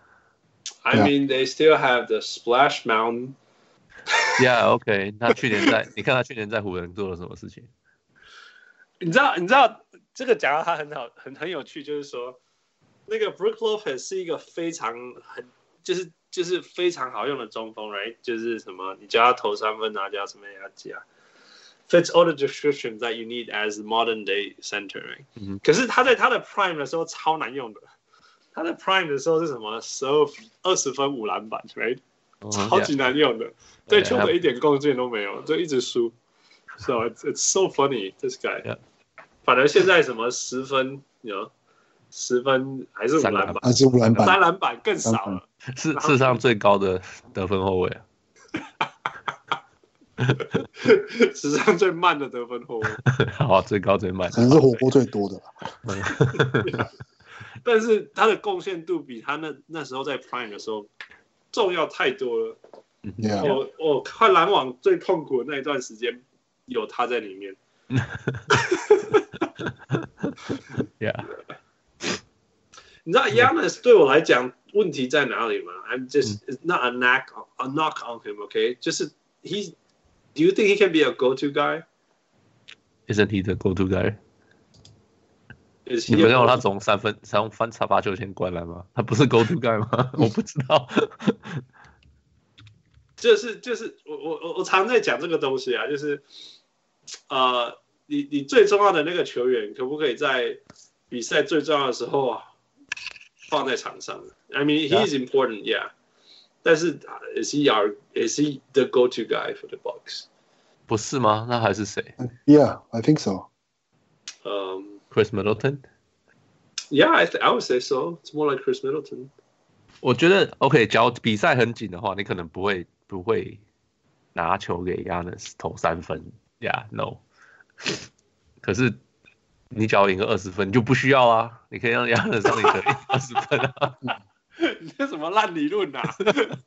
I mean, they still have the Splash Mountain. Yeah, OK. 他去年在，你看他去年在湖人做了什麼事情？ 你知道，你知道這個講到他很好，很很有趣，就是說，那個 Brook Lopez 是一個非常很就是。就是非常好用的中鋒 ，right？ 就是什麼，你叫他投三分啊，叫什麼呀？加 fits all the descriptions that you need as modern day center，right？、嗯、可是他在他的 prime 的時候超難用的，他的 prime 的時候是什麼？十二二十分五籃板 ，right？、嗯、超級難用的， yeah. 對球隊一點貢獻都沒有，就一直輸。So it's it's so funny this guy、yeah. 反而現在什麼十分，你 you know, 十分還是五籃板， 還是五籃板， 三籃板更少了。 是世上最高的得分後衛啊！ 史上最慢的得分後衛， 好，最高最慢， 可能是火鍋最多的啦。但是他的貢獻度比他那那時候在 Prime 的時候重要太多了。 Yeah. 我我看籃網最痛苦的那一段時間，有他在裡面。 Yeah. 你知道 Giannis 對我來講問題在哪裡嗎 ？I'm just it's not a knock a knock on him, okay? 就是 he, do you think he can be a go-to guy? Isn't he the go-to guy? 你不是让他从三分三分差八球先灌籃嗎？他不是 go-to guy 嗎？我不知道。 就是就是我我我常在講這個東西啊，就是呃，你你最重要的那個球員可不可以在比賽最重要的時候啊？放在場上 I mean, he is important, yeah. 但是 is he our is he the go-to guy for the Bucks? 不是嗎？那還是誰 ？Yeah, I think so. Um, Chris Middleton? Yeah, I th- I would say so. It's more like Chris Middleton. 我覺得 OK， 假如比賽很緊的話，你可能不會不會拿球給 Giannis 投三分 ，Yeah, no. 可是。你只要贏個二十分，你就不需要啊！你可以讓亞倫讓你得二十分啊！ 你這什麼爛理論啊？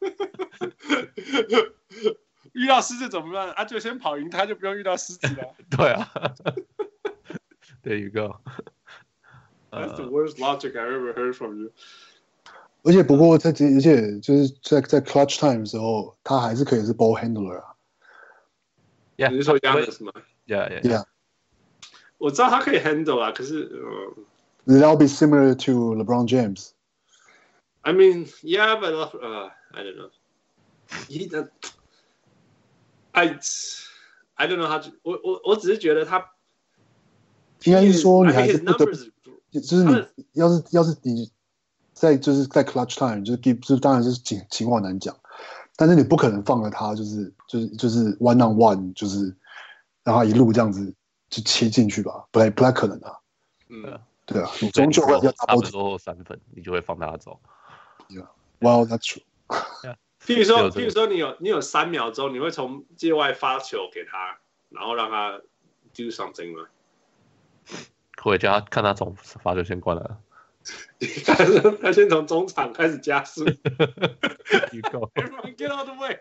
遇到獅子怎麼辦？啊，就先跑贏他，就不用遇到獅子了。 對啊，There you go. That's the worst logic I ever heard from you. 而且不過在而且就是在在 clutch time 的時候，他還是可以是 ball handler 啊。 Yeah, 你是說 Giannis 嗎 ？Yeah, yeah, yeah. 我知道他可以 handle 啊，可是呃 That'll be similar to LeBron James. I mean, yeah, but uh, I don't know. He, uh, I, I don't know how to. 我我我只是覺得他， 應該是說你還是不得， numbers, 就是你要是要是你在就是在 clutch time 就是 give 就是當然是情情況難講，但是你不可能放了他就是就是就是 one on one 就是讓他一路這樣子就切進去吧，不太不太可能啊。 嗯， 對啊，你終究會要差不多三分，你就會放他走。 Yeah. Well, that's true. 譬如說，譬如說你有你有三秒鐘，你會從界外發球給他，然後讓他 do something 嗎？ 會叫他看他從罰球線過來了。 他先從中場開始加速。 You go. Everyone get out of the way.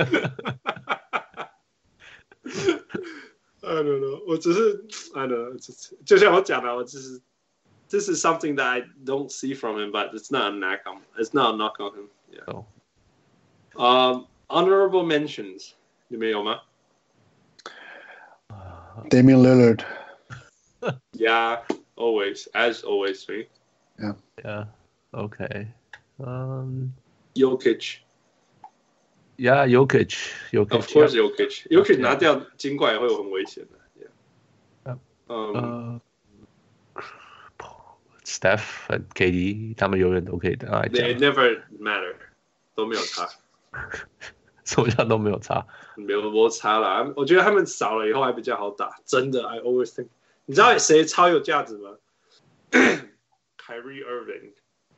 I don't know. 我只是 I don't know. 就像我講的，我只是 This is something that I don't see from him, but it's not a knock on. It's not a knock on him. Yeah. Oh. Um, honorable mentions. 你們有嗎 Damian Lillard. Yeah, always, as always, me. Yeah. Yeah. Okay. Um. Jokic. Yeah, Jokic. Jokic. Of course, yeah. Jokic. Jokic 拿掉金塊也會有很危險的。Yeah. Um. Um, Uh, Steph 和 K D 他們永遠都可以的。 They never matter. 都沒有差。 什麼叫都沒有差？ 沒有多差啦。我覺得他們少了以後還比較好打。真的 ，I always think。你知道誰超有價值嗎？Kyrie Irving。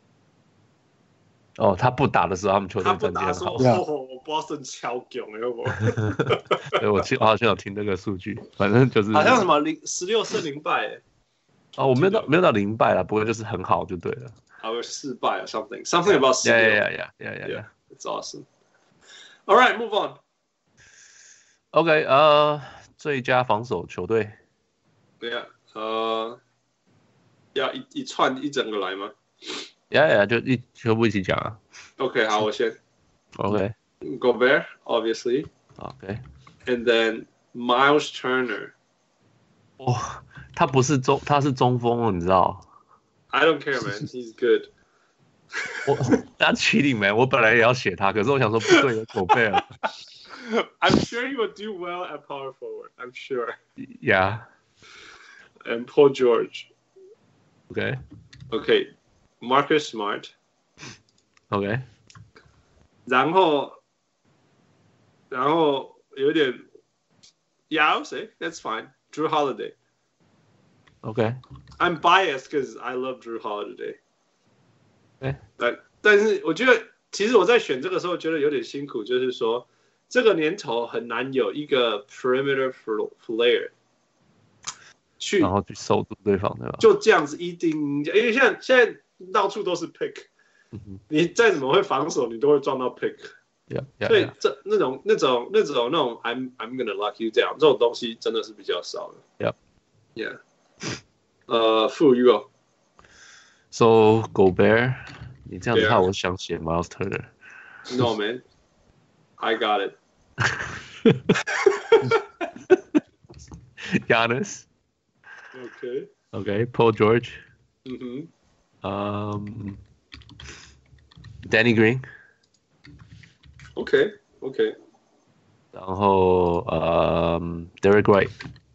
哦，他不打的時候，他們球隊戰績很好。 哦，我 Boston 超強的，有冇？ 對，我記，我好像有聽那個數據，反正就是好像什麼零十六勝零敗。 哦，我沒有到沒有到零敗啦，不過就是很好就對了。 啊，不是四敗啊 ，something something about 十六。 Yeah, yeah, yeah, yeah, yeah. It's awesome. All right, move on. OK， 呃，最佳防守球隊。 对呀，呃，要一一串一整個來嗎 ？Yeah, yeah， 就一全部一起講啊。 OK， 好，我先。 OK。 Gobert, obviously. OK. And then Miles Turner. 哇、哦，他不是中，他是中鋒哦，你知道 ？I don't care, man. He's good. 我他 cheating man， 我本來也要寫他，可是我想說不對，有狗貝爾。 I'm sure he would do well at power forward. I'm sure. Yeah. And Paul George. Okay. Okay. Marcus Smart. Okay. 然後，然後有點 Yeah, I'll say that's fine. Drew Holiday. Okay. I'm biased because I love Drew Holiday. 哎， 但但是我覺得，其實我在選這個時候覺得有點辛苦，就是說這個年頭很難有一個 perimeter player 去， 然後去守住對方，對吧？ 就這樣子一定，因為現在現在到處都是 pick，、嗯、你再怎麼會防守，你都會撞到 pick。Yeah, yeah, 所以這那種那種那種那種 I'm I'm gonna lock you down 這種東西真的是比較少的。 Yeah, yeah. 呃，傅宇哦。 So Gobert， 你這樣子看，我想寫 Miles Turner。No man, I got it. Giannis. Okay. Okay. Paul George. Mm-hmm. Um. Danny Green. Okay. Okay. 然後，嗯 ，Derek White.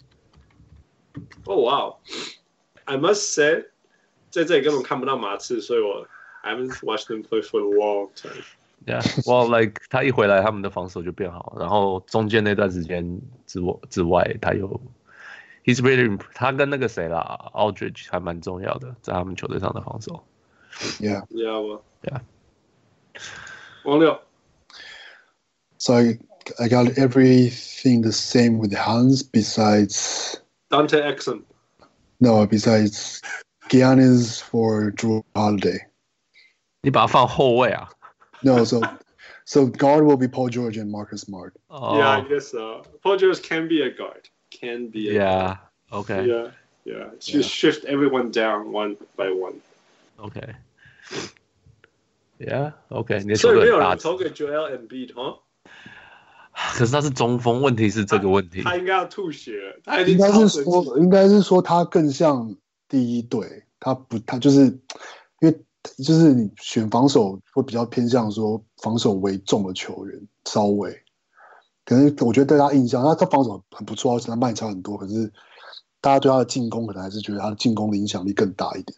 Oh wow. I must say. 在這裡根本看不到馬刺，所以我 I haven't watched them play for a long time. Yeah, well, like 他一回來，他們的防守就變好，然後中間那段時間之外之外，他有 he's really 他跟那個誰啦 Aldridge 還蠻重要的，在他們球隊上的防守。 Yeah, yeah, yeah. 王六 So I, I got everything the same with Hans besides Dante Exum. No, besides Giannis for Drew Holiday. 你把他放後衛啊 No, so so guard will be Paul George and Marcus Smart. Oh. Yeah, I guess so. Paul George can be a guard. Can be a yeah, guard. Okay. Yeah, yeah. Just yeah. shift everyone down one by one. Okay. Yeah, okay. 你所以没有人投給 Joel Embiid 哈？ 可是他是中鋒，問題是這個問題。 他應該要吐血，他應該是說，應該是說他更像第一隊，他不，他就是因為就是你選防守會比較偏向說防守為重的球員，稍微，可能我覺得對他印象，他他防守很不錯，而且他賣差很多，可是大家對他的進攻可能還是覺得他的進攻的影響力更大一點。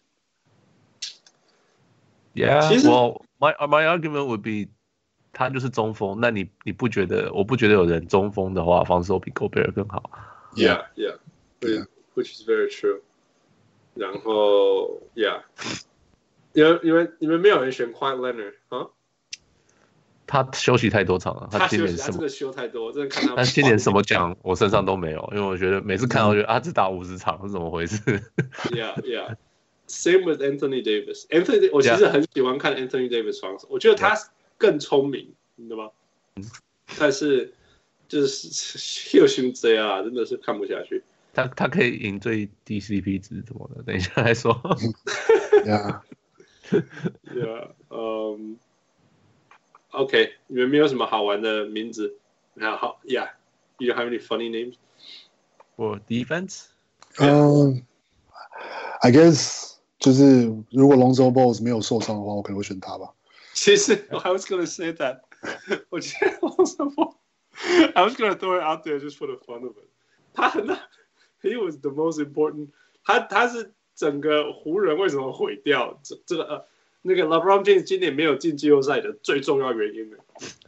Yeah, well, my my argument would be. 他就是中鋒，那你你不覺得？我不覺得有人中鋒的話，防守比 Gobert 更好。 Yeah, yeah, yeah. Which is very true. 然後 Yeah， 你們你們你們沒有人選 Kawhi Leonard 啊？ 他休息太多場了， 他今年什么？ 他這個休太多，真的看他。 他今年什麼獎我身上都沒有，因為我覺得每次看到覺得啊，只打五十場是怎麼回事 ？Yeah, yeah. Same with Anthony Davis. Anthony， 我其實很喜歡看 Anthony Davis 防守，我覺得他更聰明，你知道嗎？但是就是又心這樣啊，真的是看不下去。 他他可以贏最低 C P 值什麼的，等一下來說。 Yeah, yeah. Um, OK， 你們沒有什麼好玩的名字？那好 ，Yeah. You don't have any funny names for defense? Um, I guess 就是如果 Lonzo Ball 沒有受傷的話，我可能會選他吧。 其實 I was gonna say that， 我覺得 Lonzo Ball， I was gonna throw it out there just for the fun of it。他很，He was the most important 他。他他是整個湖人為什麼毀掉這這個呃那個 LeBron James 今年沒有進季後賽的最重要原因呢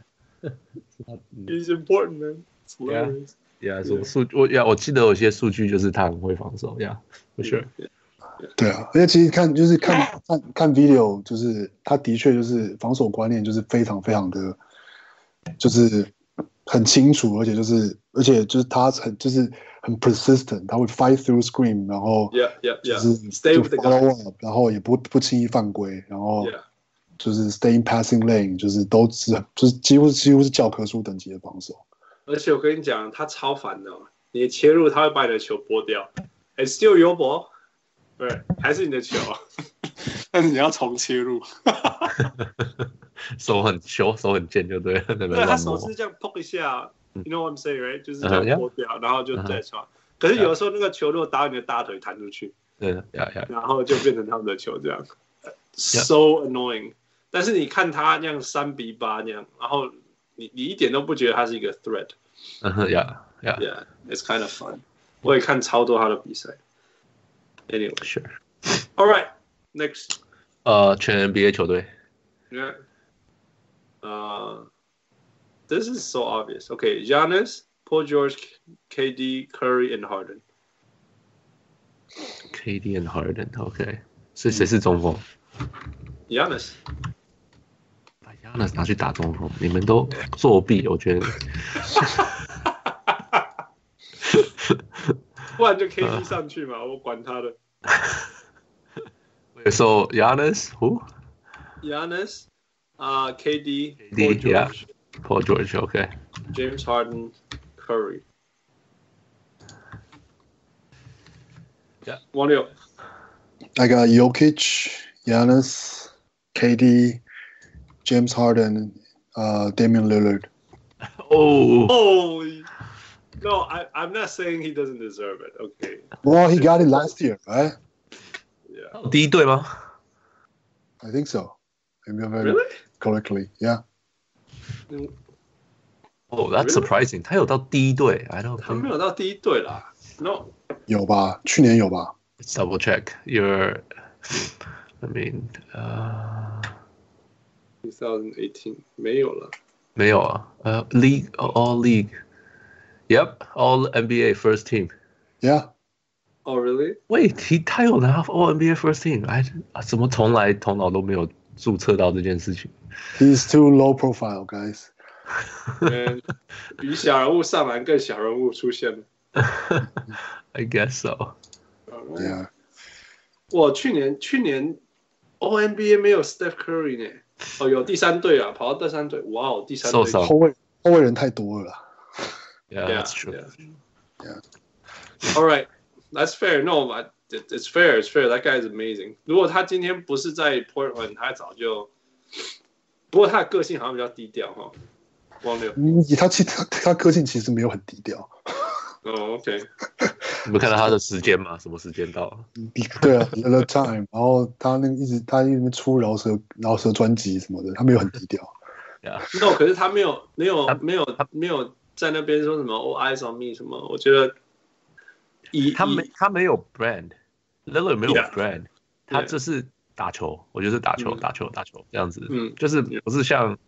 ？He's important, man. It's hilarious. Yeah, 什麼數我呀，我記得有些數據就是他很會防守呀，不是？ 對啊，而且其實看就是看看看 video， 就是他的確就是防守觀念就是非常非常的，就是很清楚，而且就是而且就是他很就是很 persistent， 他會 fight through screen， 然後就是 stay with the follow up， 然後也不不輕易犯規，然後就是 stay in passing lane， 就是都是就是幾乎幾乎是教科書等級的防守。 而且我跟你講，他超煩的、哦，你切入他會把你的球撥掉 ，It's still your ball， 對，還是你的球，但是你要重切入， 手很球手很賤就對了，對， 他手是這樣碰一下 ，You know what I'm saying, right？ 就是這樣撥掉， uh-huh, 然後就再傳。Uh-huh. 可是有的時候那個球如果打你的大腿彈出去， 對、uh-huh. yeah, yeah. 然後就變成他們的球這樣 ，so annoying。但是你看他那樣三比八那樣，然後。你你一點都不覺得他是一個 threat， 嗯哼 ，yeah yeah yeah it's kind of fun。我也看超多他的比賽。Anyway, sure. All right, next. 呃，全 N B A 球隊。 Yeah. Uh, this is so obvious. Okay, Giannis, Paul George, K D, Curry, and Harden. K D and Harden, OK. 是誰是中鋒 ？Giannis。 那拿去打中鋒，你們都作弊，我覺得。 不然就 K D 上去嘛，我管他的。 So Giannis who? Giannis, uh, K D, Paul George, yeah. Paul George, OK. James Harden, Curry. Yeah. 王六。 I got Jokic, Giannis, K D.James Harden, uh, Damian Lillard. Oh, holy! No, I, I'm not saying he doesn't deserve it. Okay. Well, he got it last year, right? Yeah. 第一隊嗎 I think so. I remember really? correctly. Yeah. Oh, that's really? surprising. 他有到第一隊 I don't. 他沒有到第一隊啦 No. 有吧？去年有吧 Let's double check. Your, I mean, uh. twenty eighteen 沒有了， 沒有啊，呃、uh, ，League All League, Yep, All N B A First Team. Yeah. Oh, really? Wait, he 他有拿 All N B A First Team， 哎，怎麼從來頭腦都沒有註冊到這件事情 ？He's too low profile, guys. 嗯，比小人物上籃更小人物出現了。 I guess so. Yeah. 我去年去年 All N B A 沒有 Steph Curry 呢。哦，有第三隊啊，跑到第三隊，哇哦，第三隊受傷， 後衛後衛人太多了啦。 Yeah, yeah, that's true. Yeah. Yeah. All right, that's fair. No, it's fair. It's fair. That guy is amazing. 如果他今天不是在 Portland， 他早就。不過他的個性好像比較低調哈。王六， 嗯，他其他他個性其實沒有很低調。 哦、oh, ，OK。 你們看到他的時間嗎？什麼時間到了？ 對啊 ，The Time， 然後他那個一直他一直出饒舌饒舌專輯什麼的，他沒有很低調。 Yeah. No， 可是他沒有沒有沒有沒有在那邊說什麼 All eyes on me 什麼，我覺得以他沒他沒有 brand，Lillard 沒有 brand， yeah. 他就是打球，我覺得是打球、嗯、打球打球這樣子， 嗯， 就是不是像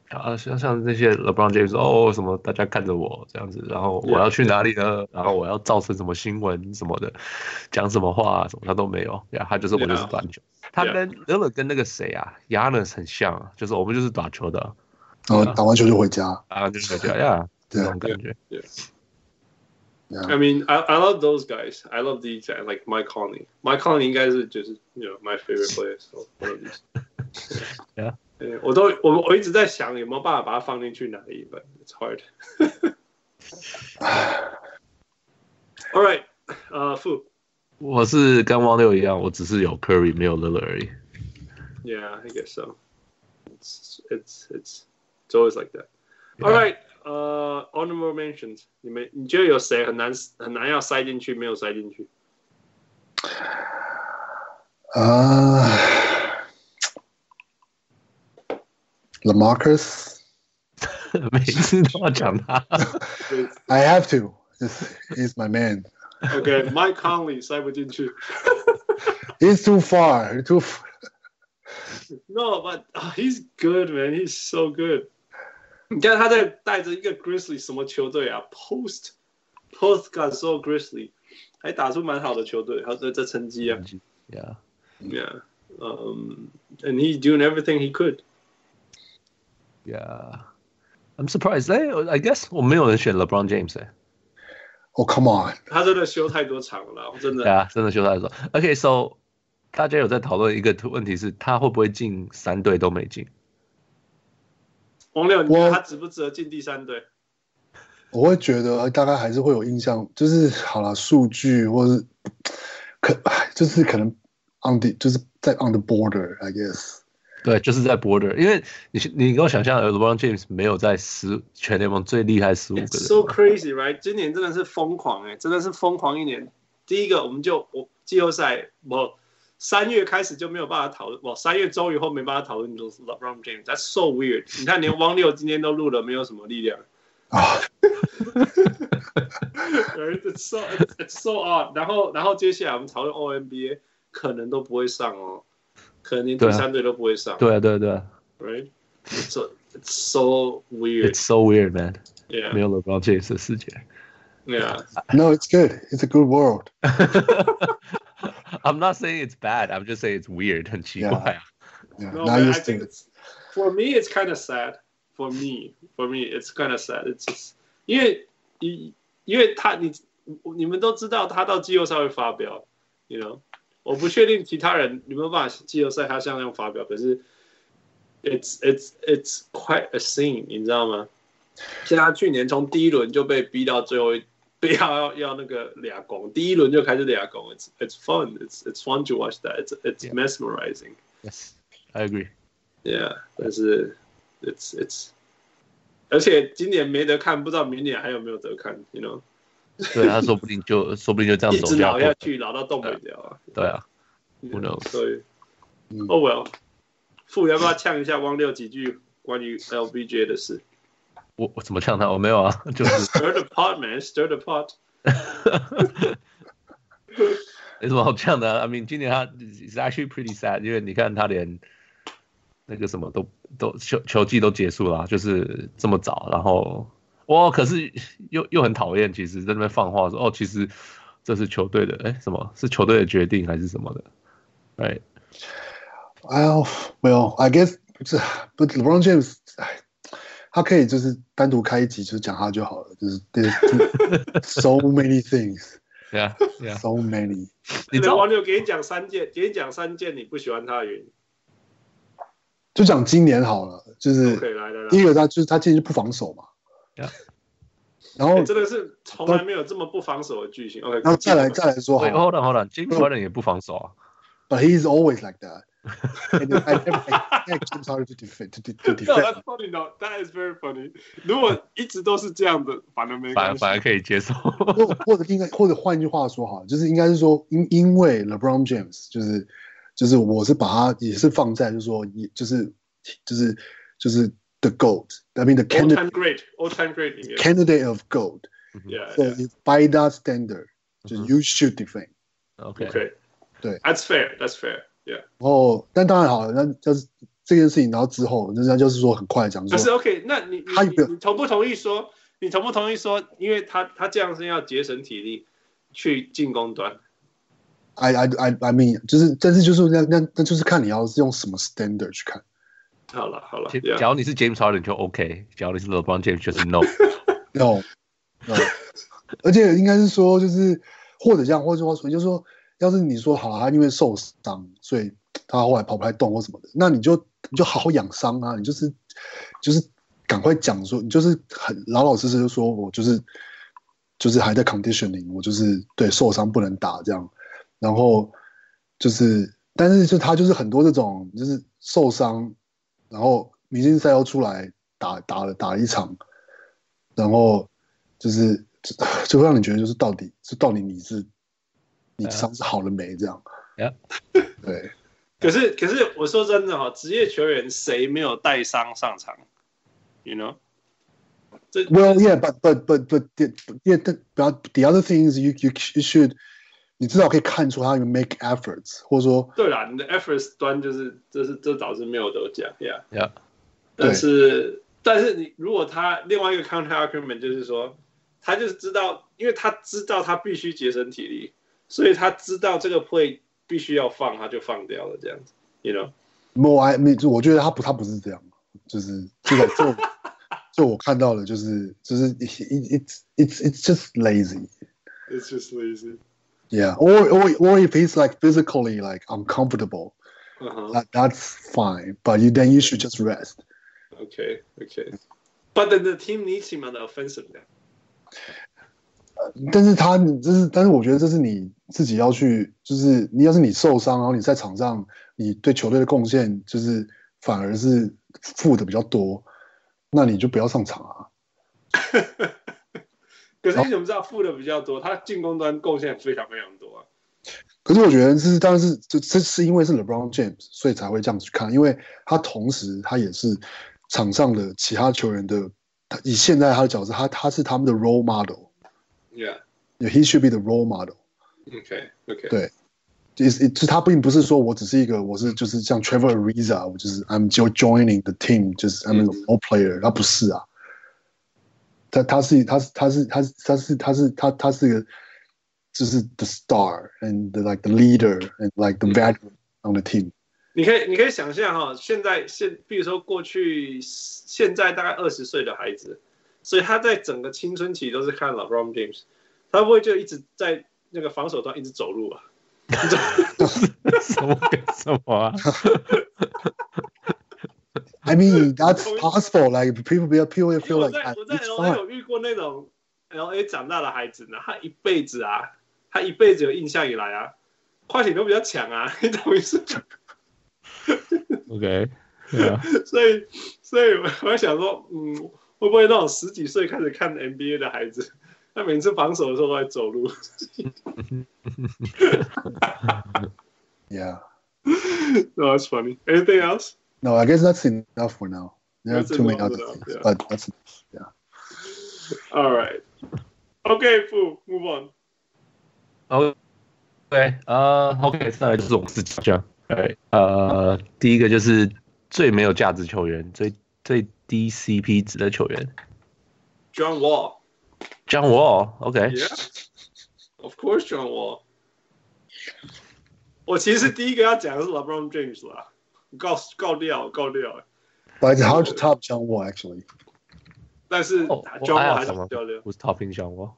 啊，像像那些 LeBron James 哦什麼，大家看着我這樣子，然後我要去哪裡呢？ Yeah. 然後我要造成什麼新聞什麼的，講什麼話啊什麼他都沒有，呀，他就是我就是打球。Yeah. 他跟 Lillard 跟那個誰啊 Giannis 很像啊，就是我們就是打球的， 然後打完球就回家， 啊就回家呀，這種感覺。 Yeah. Yeah. I mean, I I love those guys. I love these guys like Mike Conley. Mike Conley 應該是就是 you know my favorite player. So one of these. Yeah. 我都我我一直在想有沒有辦法把它放進去哪裡 ，but it's hard. All right, 呃、uh, ，Fu， 我是跟汪六一樣，我只是有 Curry 沒有 Lillard 而已。 Yeah, I guess so. It's it's it's it's always like that. All right, 呃、uh, ，honorable mentions， 你們你覺得有誰很難很難要塞進去，沒有塞進去？ 啊、uh... LaMarcus 每次都要講他 I have to. He's my man. Okay, Mike Conley 塞不進去。 He's too far. Too far. No, but uh, he's good, man. He's so good. 你看他在帶着一個 Grizzly 什麼球隊啊 ？Post Post got so Grizzly， 還打出蠻好的球隊，還有這這成績啊。 Yeah, yeah. Um, and he's doing everything he could. Yeah, I'm surprised. I I guess 我沒有人選 LeBron James 哎。 Oh come on！ 他真的休太多場了，真的。 對啊，真的休太多。Okay, so 大家有在討論一個問題是，他會不會進三隊都沒進？ 王六，你覺得他值不值得進第三隊？ 我會覺得大概還是會有印象，就是好了，數據或是可就是可能 on the 就是在 on the border, I guess。 對，就是在 border， 因為你你給我想象 ，LeBron James 沒有在十全聯盟最厲害十五個人。 It's so crazy, right？ 今年真的是瘋狂哎、欸，真的是瘋狂一年。第一個，我們就我季後賽，我三月開始就沒有辦法討論，我三月終於後沒辦法討論，就是 LeBron James。That's so weird。你看，連汪六今天都錄了，沒有什麼力量啊。It's so it's so odd。然後然後接下來我們討論 O N B A， 可能都不會上哦。可能連第三隊都不會上。 對啊，對啊，對啊。 Right? It's so, it's so weird. It's so weird, man. Yeah. 沒有 LeBron James 的世界。 Yeah. No, it's good. It's a good world. I'm not saying it's bad. I'm just saying it's weird. 很奇怪啊。 Yeah. Yeah. No, man, I think it's, for me, it's kind of sad. For me, for me, it's kind of sad. It's just 因為因為他你你們都知道他到季後賽會發飆 ，you know。我不確定其他人有沒有辦法季後賽他像那樣發表，可是 it's it's it's quite a scene， 你知道嗎？像他去年從第一輪就被逼到最後一，被要要要那個倆攻，第一輪就開始倆攻 ，it's it's fun, it's it's fun to watch that, it's it's yeah. mesmerizing. Yes, I agree. Yeah, 但是 it's it's， 而且今年沒得看，不知道明年還有沒有得看 ，you know。 對，他說不定就說不定就這樣走一直老下去，老到動不了啊！ 對啊 ，Who knows？ 所以 ，Oh well， 傅要不要嗆一下汪六幾句關於 L B J 的事？ 我我怎麼嗆他？我沒有啊，就是 Stir the pot, man, stir the pot 。 沒什麼好嗆的、啊。I mean， 今年他 is actually pretty sad， 因為你看他連那個什麼都都球球季都結束了、啊，就是這麼早，然後。哇！可是又又很討厭，其實在那邊放話說哦，其實這是球隊的，哎，什麼是球隊的決定還是什麼的 ？Right? Well, well, I guess 不是，But LeBron James， 他可以就是單獨開一集就講他就好了，就是 so many things, yeah, yeah, so many。 你知道王六給你講三件，給你講三件你不喜歡他的原因。 就講今年好了，就是第一個他就是他今年就不防守嘛。 Yeah. 然後、 欸、真的是從來沒有這麼不防守的巨星。OK， 然後再來再來說， 好 ，Hold on hold on， James Harden 也不防守啊。 But he's always like that. And I never expect James Harden to defend. To, to defend. No, that's funny. No, that is very funny. 如果一直都是這樣的，反而沒關係， 反而可以接受。 或或者應該或者換一句話說好，就是應該是說因因為 LeBron James 就是就是我是把他也是放在就是說也就是就是就是。The GOAT, I mean the candidate, all-time great, all-time great, yeah. candidate of GOAT. Yeah, so yeah. If by that standard, mm-hmm. you should defend. Okay, okay. 對 That's fair, that's fair, yeah. 哦，但當然好了，那就是這件事情，然後之後人家就是說很快講說， 可是 OK， 那你他你你同不同意說，你同不同意說，因為他他這樣是要節省體力去進攻端 ？I I I I mean， 就是，但是就是那那那就是看你要是用什麼 standard 去看。 好了好了， 假如你是 James Harden 就 OK， 假如你是 LeBron James 就是 No no no， 而且應該是說就是或者這樣，或者說就是說，要是你說好他因為受傷，所以他後來跑不太動或什麼的，那你就你就好好養傷啊，你就是就是趕快講說，你就是很老老實實的說，我就是就是還在 conditioning， 我就是對受傷不能打這樣，然後就是但是就他就是很多這種就是受傷。然後明星賽又出來打打了打了一場，然後就是就會讓你覺得就是到底是到底你是你傷是好了沒這樣？ Yeah. 對。 可是可是我說真的哈，職業球員誰沒有帶傷上場 ？You know? Well, yeah, but but but but the, yeah, the, the other thing is you you you should 你至少可以看出他有 make efforts， 或者說对啦，你的 efforts 端就是这是这导致没有得奖 ，Yeah， Yeah， 但是但是你如果他另外一个 counter argument 就是说，他就是知道，因为他知道他必須節省體力，所以他知道這個 play 必須要放，他就放掉了這樣子 ，you know？ I mean， 我覺得他不他不是這樣，就是這個就就我看到的就是就是 it's it's it's just lazy，it's just lazy。 Yeah, or or or if he's like physically like uncomfortable, uh-huh. that, that's fine. But you then you should just rest. Okay, okay. But then the team needs him on the offensive now. 但是他这是，但是我觉得這是你自己要去，就是你要是你受傷，然後你在場上，你對球隊的貢獻就是反而是負的比較多，那你就不要上場啊。 可是你怎麼知道負的比較多？他進攻端貢獻非常非常多啊。 可是我覺得這是當然是這這是因為是 LeBron James，所以才會這樣去看，因為他同時他也是場上的其他球員的，以現在他的角色，他他是他們的 role model。Yeah, he should be the role model. Okay, okay. 對，就是就是他並不是說我只是一個，我是就是像 Trevor Ariza， 我就是 I'm just joining the team， 就是 I'm a role player， 他不是啊。他他是他是他是他是他是他是他他是個就是 the star and the, like the leader and like the veteran on the team。 你可以你可以想象哈，現在現比如說過去現在大概二十歲的孩子，所以他在整個青春期都是看 LeBron James， 他不會就一直在那個防守端一直走路啊？ 什麼跟什麼啊 ？I mean, that's possible. Like people, people will feel like. 我在 L A 有遇過那種 L A 長大的孩子呢，他一輩子啊，他一輩子有印象以來啊，快艇都比較強啊，你懂意思 ？OK， yeah. 所以，所以我在想說，嗯，會不會那種十幾歲開始看 N B A 的孩子，他每次防守的時候都在走路 ？Yeah. No, that's funny. Anything else? No, I guess that's enough for now. There are too many other enough, things, yeah. but that's enough. Yeah. All right. Okay, Fu, move on. OK， 呃、uh, ，OK， 再來就是我們自己講。對，呃，第一個就是最沒有價值球員，最最低 C P 值的球員 ，John Wall。John Wall，OK。Yeah. Of course, John Wall. 我其實第一個要講的是 LeBron James 啦。告告掉告掉 But it's hard to top John Wall actually. 但是 John Wall 還是比較溜。 Who's topping John Wall?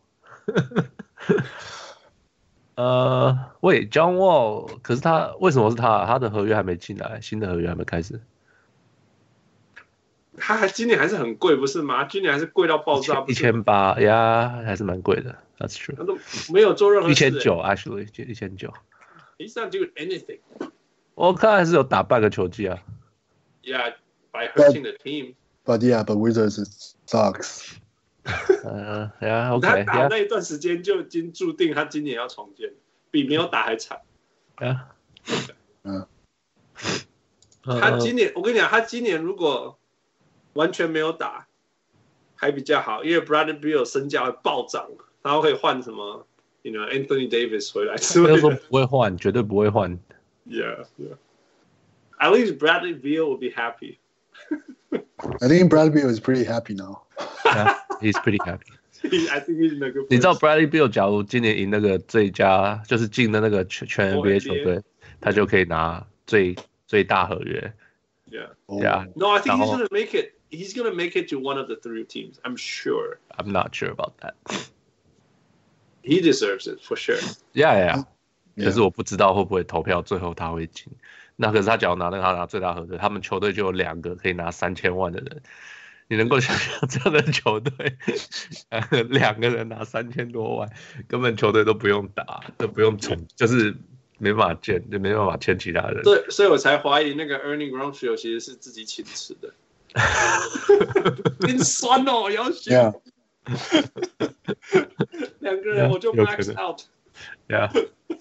呃，喂 ，John Wall， 可是他為什麼是他？他的合約還沒進來，新的合約還沒開始。 他還今年還是很貴，不是嗎？今年還是貴到爆炸， 一千八呀，還是蠻貴的。That's true。 他都沒有做任何事。一千九 ，actually， 就一千九。 He's not doing anything。 我看還是有打半個球季啊。 Yeah, by hurting the team. But yeah, but Wizards sucks. 呃，呀 ，OK。 他打那一段時間就已經注定他今年要重建，比沒有打還慘。 呀， 嗯。 他今年，我跟你講，他今年如果完全沒有打，還比較好，因為 Bradley Beal 身價會暴漲，然後可以換什麼 ，you know Anthony Davis 回來。 沒有說不會換，絕對不會換。 Yeah, yeah. At least Bradley Beal will be happy. I think Bradley Beal is pretty happy now. Yeah, he's pretty happy. I think he's in a good place. 你知道 Bradley Beal 假如今年贏那個最佳，就是進的那個全全 N B A 球隊，他就可以拿最最大合約。 Yeah. Yeah. No, I think he's gonna make it. He's gonna make it to one of the three teams. I'm sure. I'm not sure about that. He deserves it for sure. Yeah, yeah. 可是我不知道會不會投票最後他會進。那可是他只要拿那個他拿最大合約，他們球隊就有兩個可以拿三千萬的人。你能夠想象這樣的球隊，兩個人拿三千多萬，根本球隊都不用打，都不用從，就是沒辦法簽，就沒辦法簽其他人。 對，所以我才懷疑那個 Ernie Grunfeld 其實是自己請辭的。真酸哦，要死！兩個人我就 max out。 Yeah.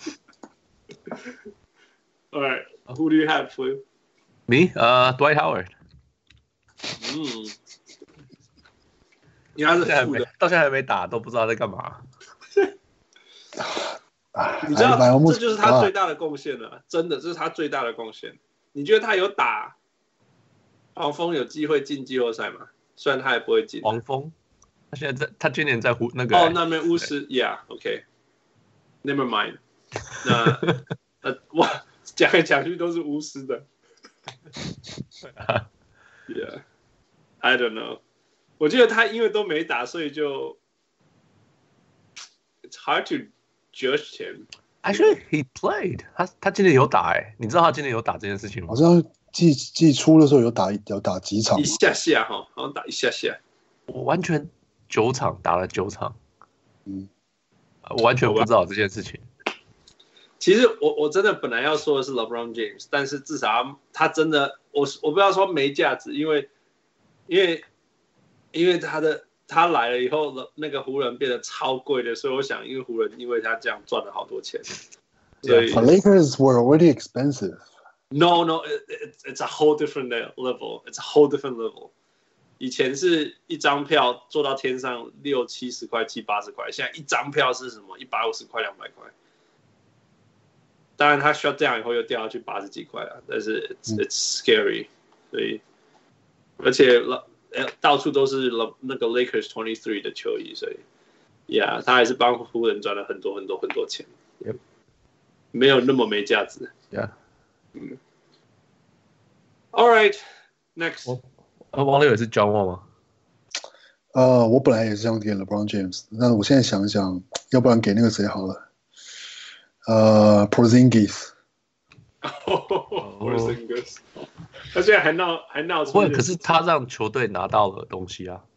All right, who do you have, Flip? Me, uh, Dwight Howard. 嗯，因為他是副的， 到現在還沒打，都不知道在幹嘛。 你知道，這就是他最大的貢獻了，真的，這是他最大的貢獻。你覺得他有打黃蜂有機會進季後賽嗎？雖然他也不會進。 黃蜂，他現在在，他今年在湖那個。 哦，那邊巫師 ，Yeah，OK，Never mind。那呃，我講來講去都是巫師的。Yeah, I don't know. 我覺得他因為都沒打，所以就 It's hard to judge him. Actually, he played. 他他今年有打哎，你知道他今年有打這件事情嗎？ 好像季季初的時候有打有打幾場， 一下下哈，好像打一下下。 我完全九場打了九場， 嗯， 我完全不知道這件事情。 其實我我真的本來要說的是 LeBron James， 但是至少 他, 他真的我我不要說沒價值，因為因為因為他的他來了以後，那個湖人變得超貴的，所以我想，因為湖人因為他這樣賺了好多錢，所以 The Lakers were already expensive. No, no, it, it, it's a whole different level. It's a whole different level. 以前是一張票做到天上六七十塊、七八十塊，現在一張票是什麼？一百五十塊、兩百塊。當然，他 shut down 以後又掉下去八十幾塊了，但是 it's, it's scary，所以而且到處都是那個 Lakers twenty-three 的球衣，所以 ，Yeah， 他還是幫湖人賺了很多很多很多錢， Yep. 沒有那麼沒價值。 Yeah， 嗯。All right, next。 王六也是 John Wall 嗎？ 呃，我本來也是想給 LeBron James， 但我現在想一想，要不然給那個誰好了。呃、uh, ，Porzingis， oh, Porzingis， 他現在還鬧還鬧出。 不，可是他讓球隊拿到了東西啊。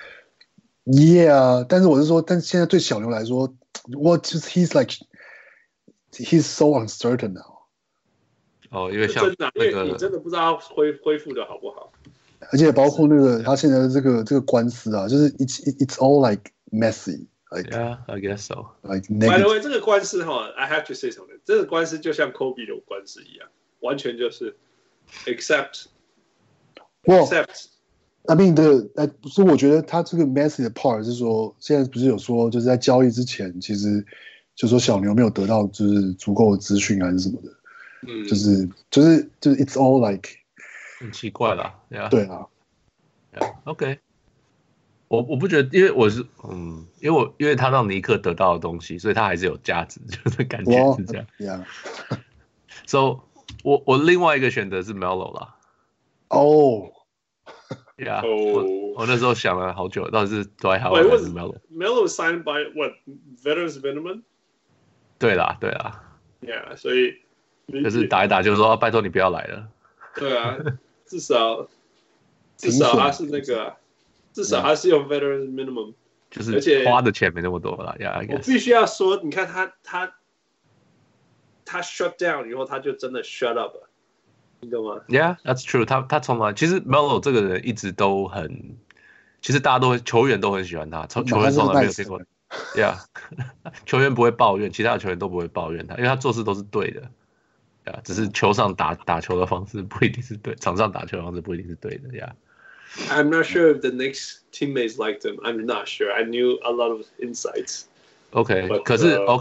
Yeah， 但是我是說，但是現在對小牛來說 ，What just he's like he's so uncertain now。 哦，因為像那個， 因為你真的不知道他恢恢復的好不好。 而且包括那個他現在的這個這個官司啊，就是 it's it's all like messy。Like, yeah, I guess so. Like by the way， 這個官司哈 ，I have to say something。這個官司就像 Kobe 的官司一樣，完全就是 except well, except。 I mean the，哎，不是，我覺得他這個 messy 的 part 是說，現在不是有說，就是在交易之前，其實就說小牛沒有得到就是足夠的資訊還是什麼的，嗯，就是就是就是 it's all like 很奇怪啦， yeah. 對啊 ，yeah, OK。我我不覺得，因為我是嗯，因為我因為他讓尼克得到的東西，所以他還是有價值，就是感覺是這樣。 Yeah. So 我我另外一個選擇是 Melo 啦。 哦。 Yeah. 我我那時候想了好久，到底是 Dwight Howard 還是 Melo？Melo signed by what veterans minimum？ 對啦，對啦。 Yeah， 所以可是打一打就說、啊、拜託你不要來了。 對啊，至少至少他是那個。至少還是有 veteran minimum， 就是花的錢沒那麼多了。Yeah, 我必須要說，你看他他他 shut down 以後，他就真的 shut up 了，你懂嗎 ？Yeah, that's true 他。他他從來其實 Melo 這個人一直都很，其實大家都會球員都很喜歡他，球員從來沒有聽過。Yeah， 球員不會抱怨，其他的球員都不會抱怨他，因為他做事都是對的。Yeah, 只是球上打打球的方式不一定是對，場上打球的方式不一定是對的。Yeah。I'm not sure if the Knicks teammates liked him. I'm not sure. I knew a lot of insights. OK， 可是、uh, OK，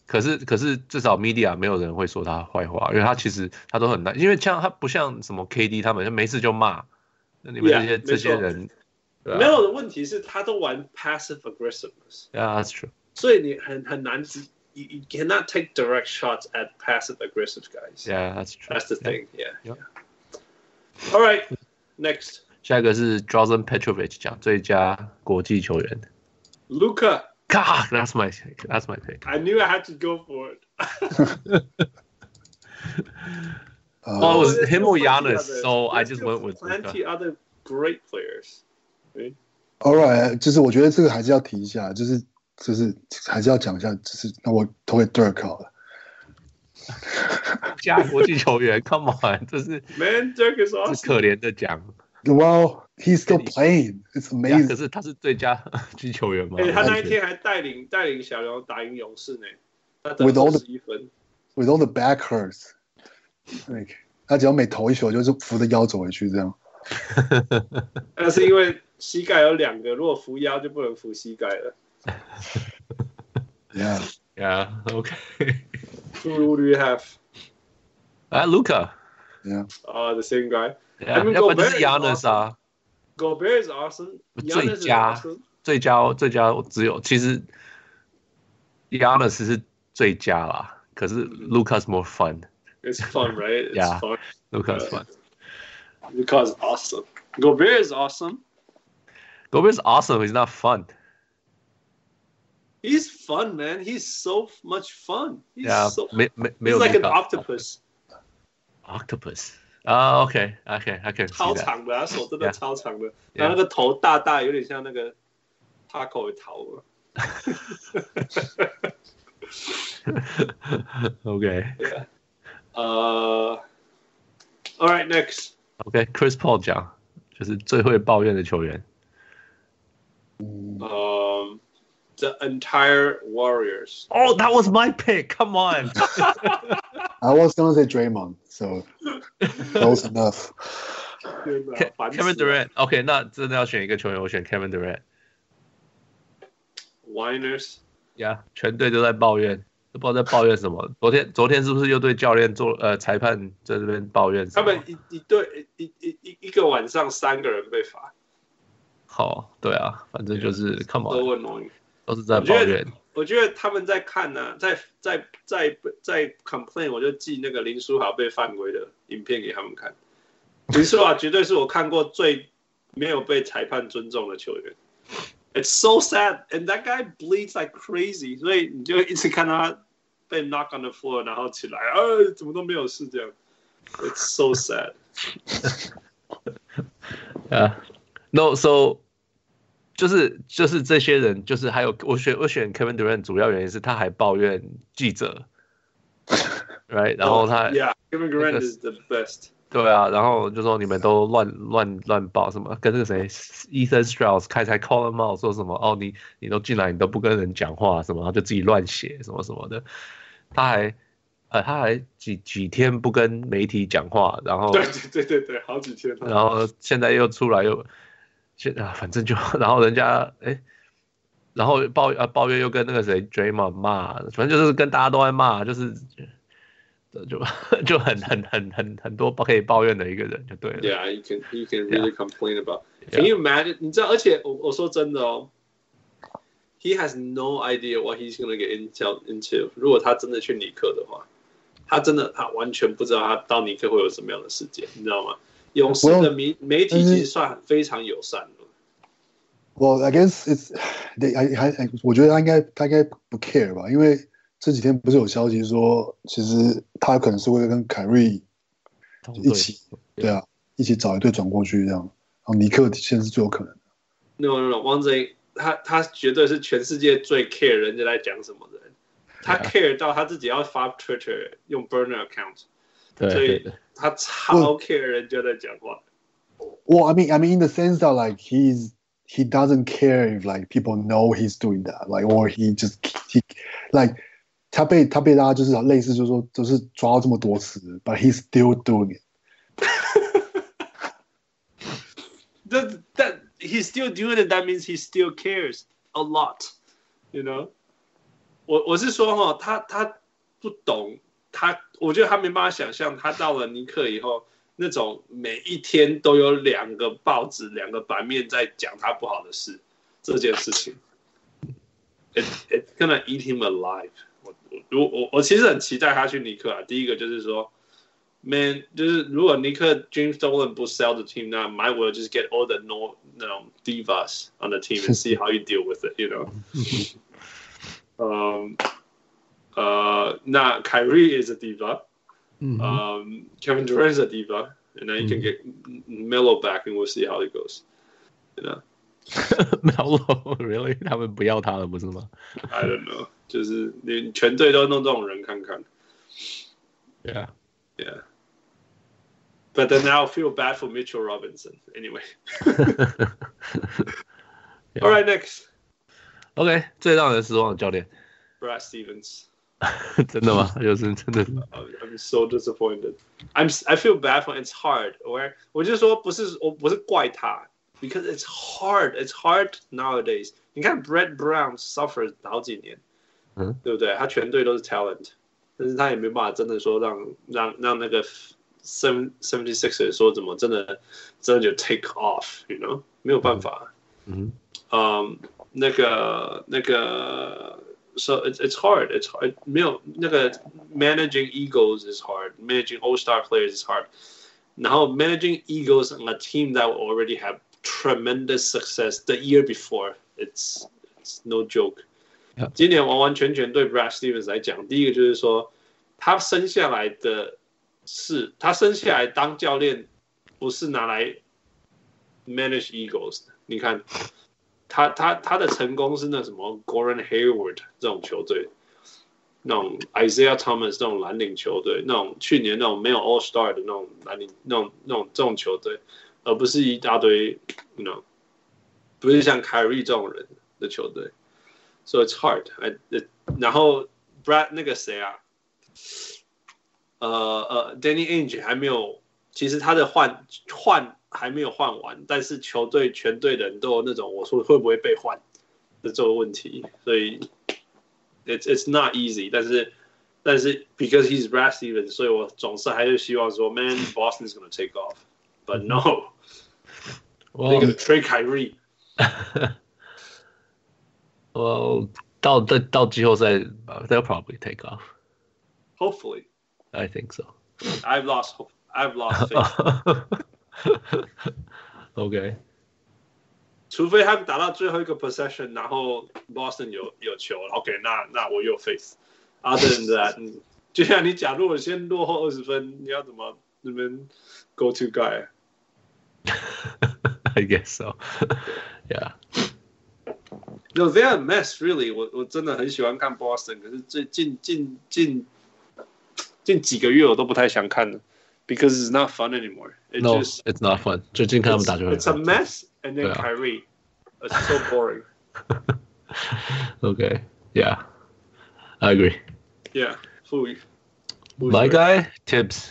可是可是至少 media 沒有人會說他壞話，因為他其實他都很難，因為像他不像什麼 K D 他們沒事就罵，那你們這些、yeah, 這些人， 啊、沒有的問題是他都玩 passive aggressiveness。Yeah, that's true. 所以你很很難 you, you cannot take direct shots at passive aggressive guys. Yeah, that's true. That's the thing. Yeah. yeah. All right, next. 下一個是 Drazen Petrovic 講最佳國際球員 Luka。God, that's my that's my pick. I knew I had to go for it. uh, well, it was him or Giannis, so I just went with plenty Luka. Other great players. Right? All right, 就是我覺得這個還是要提一下，就是就是還是要講一下，就是那我投給 Dirk 好了。 加國際球員 ，Come on， 這是 Man, Dirk is awesome. 是可憐的獎。 Well, he's still playing. It's amazing. 可是他是最佳擊球員嗎？ 欸、他那一天還帶領帶領小牛打贏勇士呢，他得 with all the 十一分 with all the back hurts, like 他只要每投一球就是扶着腰走回去這樣。 那是因為膝蓋有兩個，如果扶腰就不能扶膝蓋了。 Yeah, yeah, okay. Who do you have? Ah, uh, Luka. Yeah. Uh, the same guy. Yeah. I mean, 要不然就是 Gobert Giannis 啊。 Gobert is awesome. 最佳 awesome. 最佳最佳只有其實 Giannis 是最佳啦，可是 Luka's more fun. It's fun, right? It's yeah. fun. Luka's fun. Luka's awesome. Gobert is awesome. Gobert's awesome. He's not fun. He's fun, man. He's so much fun. He's yeah, so, me, me, he's like an octopus. Octopus. 啊、uh, ，OK，OK，、okay, okay, I can see that. 超長的，他手真的 yeah. 超長的， yeah. 然後那個頭大大，有點像那個 taco 的頭。 OK。 Yeah. 呃、uh, ，All right, next. OK，Chris、okay, Paul 講，就是最會抱怨的球員。 Um, the entire Warriors. Oh, that was my pick. Come on. I was gonna say Draymond, so close enough. Kevin Durant. OK， 那真的要選一個球員，我選 Kevin Durant. Whiners. Yeah， 全隊都在抱怨，都不知道在抱怨什麼。昨天昨天是不是又對教練做呃裁判在這邊抱怨？ 他們一一隊一一一一個晚上三個人被罰。 好，對啊，反正就是 come on， 都 annoying， 都是在抱怨。 我覺得他們在看呢、啊，在在在在 complain， 我就寄那個林書豪被犯規的影片給他們看。林書豪絕對是我看過最沒有被裁判尊重的球員。It's so sad, and that guy bleeds like crazy， 所以你就一直看到他被 knock on the floor， 然後起來，啊，怎麼都沒有事這樣。It's so sad. Yeah, no, so. 就是就是這些人，就是還有我選我選 Kevin Durant 主要原因是他還抱怨記者 ，right？ 然後他 ，Yeah, Kevin Durant is the best。 對啊，然後就說你們都亂亂亂報什麼，跟那個誰 Ethan Strauss 開才 call him out 說什麼哦，你你都進來你都不跟人講話什麼，然後就自己亂寫什麼什麼的，他還呃他還幾幾天不跟媒體講話，然後對對對對，好幾天， 然後現在又出來又。現啊，反正就然後人家哎，然後抱啊抱怨又跟那個誰 Draymond 罵，反正就是跟大家都在罵，就是就就很很很很很多可以抱怨的一個人就對了。 Yeah, you can you can really yeah. complain about. Can you imagine? 你知道，而且我我說真的哦 ，He has no idea what he's gonna get into into. 如果他真的去尼克的話，他真的他完全不知道他到尼克會有什麼樣的世界，你知道嗎？勇士的媒媒體其實算非常友善的。 Well, I guess it's they. I, I, 我覺得他應該他應該不 care 吧，因為這幾天不是有消息說，其實他可能是會跟凱瑞一起，對啊，一起找一隊轉過去這樣。然後尼克現在是最有可能的。 No, no, no， 汪賊他他絕對是全世界最 care 人家在講什麼的人，他 care 到他自己要發 Twitter 用 burner account。所以他超 care 人家在講話。 Well, I mean, I mean, in the sense that like he's he doesn't care if like people know he's doing that, like or he just he like 他被他被大家就是類似就是說就是抓到這麼多次 ，but he's still doing it. that that he's still doing it. That means he still cares a lot, you know. 我我是說哈，他他不懂他，我覺得他沒辦法想象他到了尼克以後，那種每一天都有兩個報紙、兩個版面在講他不好的事這件事情。It it's gonna eat him alive 我。我我我其實很期待他去尼克啊。第一個就是說 ，Man， 就是如果尼克 James Dolan 不 sell the team， 那 might well just get all the no 那種 divas on the team and see how you deal with it，you know 。嗯，呃，那 Kyrie is a diva， 嗯、um, ，Kevin Durant is a diva，and then you can get Melo back and we'll see how it goes，you know。Melo really？ 他們不要他了，不是嗎 ？I don't know， 就是你全隊都弄這種人看看。 Yeah, yeah. But then now I feel bad for Mitchell Robinson. Anyway. yeah. All right, next. OK， 最讓人失望的教練 ，Brad Stevens。 真的嗎？就是真的。 I'm so disappointed. I'm I feel bad for it's hard. Or 我就說不是我不是怪他。Because it's hard, it's hard nowadays. 你看 Brett Brown suffered 好幾年，嗯，對不對？他全隊都是 talent， 但是他也沒辦法真的說讓讓讓那個 seventy-sixers 說怎麼真的真的就 take off，you know， 沒有辦法。嗯，嗯，那個那個 ，so it's it's hard, it's hard. 沒有那個 managing egos is hard, managing all-star players is hard. 然後 managing egos on a team that will already have tremendous success the year before. It's it's no joke. Yeah. 今年完完全全對 Brad Stevens 來講，第一個就是說，他生下來的是他生下來當教練，不是拿來 manage egos 的。你看，他他他的成功是那什麼 Gordon Hayward 這種球隊，那種 Isaiah Thomas 這種藍領球隊，那種去年那種沒有 All Star 的那種藍領那種那種這種球隊。而不是一大堆 ，you know， 不是像 Kyrie 這種人的球隊 ，so it's hard. I, it, 然後 Brad 那個誰啊，呃呃 ，Danny Ainge 還沒有，其實他的換換還沒有換完，但是球隊全隊的人都有那種我說會不會被換的這個問題，所以 it's it's not easy. 但是但是 because he's Brad Stevens， 所以我總是還是希望說 ，Man Boston is gonna take off。But no, well, they're gonna trade Kyrie. Well, 到到季後賽 they'll probably take off. Hopefully, I think so. I've lost hope. I've lost faith. OK. 除非他們打到最後一個 possession， 然後 Boston 有有球 ，OK， 那那我有 faith。Other than that， 就像你假如我先落後二十分，你要怎麼那邊 go to guy？ I guess so. Yeah. No, they're a mess, really. 我我真的很喜歡看 Boston， 可是最近近近近幾個月我都不太想看了 ，because it's not fun anymore. It no, just, it's not fun. 最近看他們打就很 It's a mess, and then Kyrie. It's so boring. Okay. Yeah. I agree. Yeah. Who? My guy, Tibbs.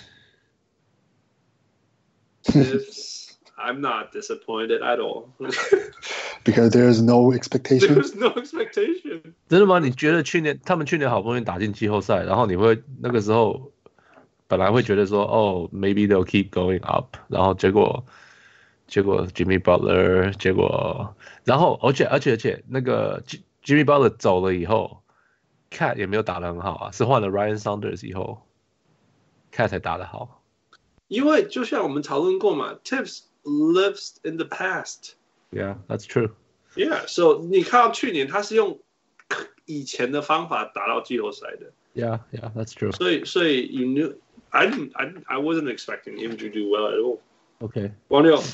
Tibbs. I'm not disappointed at all. Because there's no expectation. There's no expectation. 真的嗎？你覺得去年他們去年好不容易打進季後賽，然後你會那個時候本來會覺得說，哦 ，maybe they'll keep going up， 然後結果結果 Jimmy Butler， 結果然後而且而且而且那個 Jimmy Butler 走了以後 ，Cat 也沒有打得很好啊，是換了 Ryan Saunders 以後 ，Cat 才打得好。 因為就像我們討論過嘛 ，Tibbs lives in the past. Yeah, that's true. Yeah, so 你看到去年他是用以前的方法打到季後賽的。 Yeah, yeah, that's true. 所以所以 you knew I didn't I didn't, I wasn't expecting him to do well at all. Okay. 王六。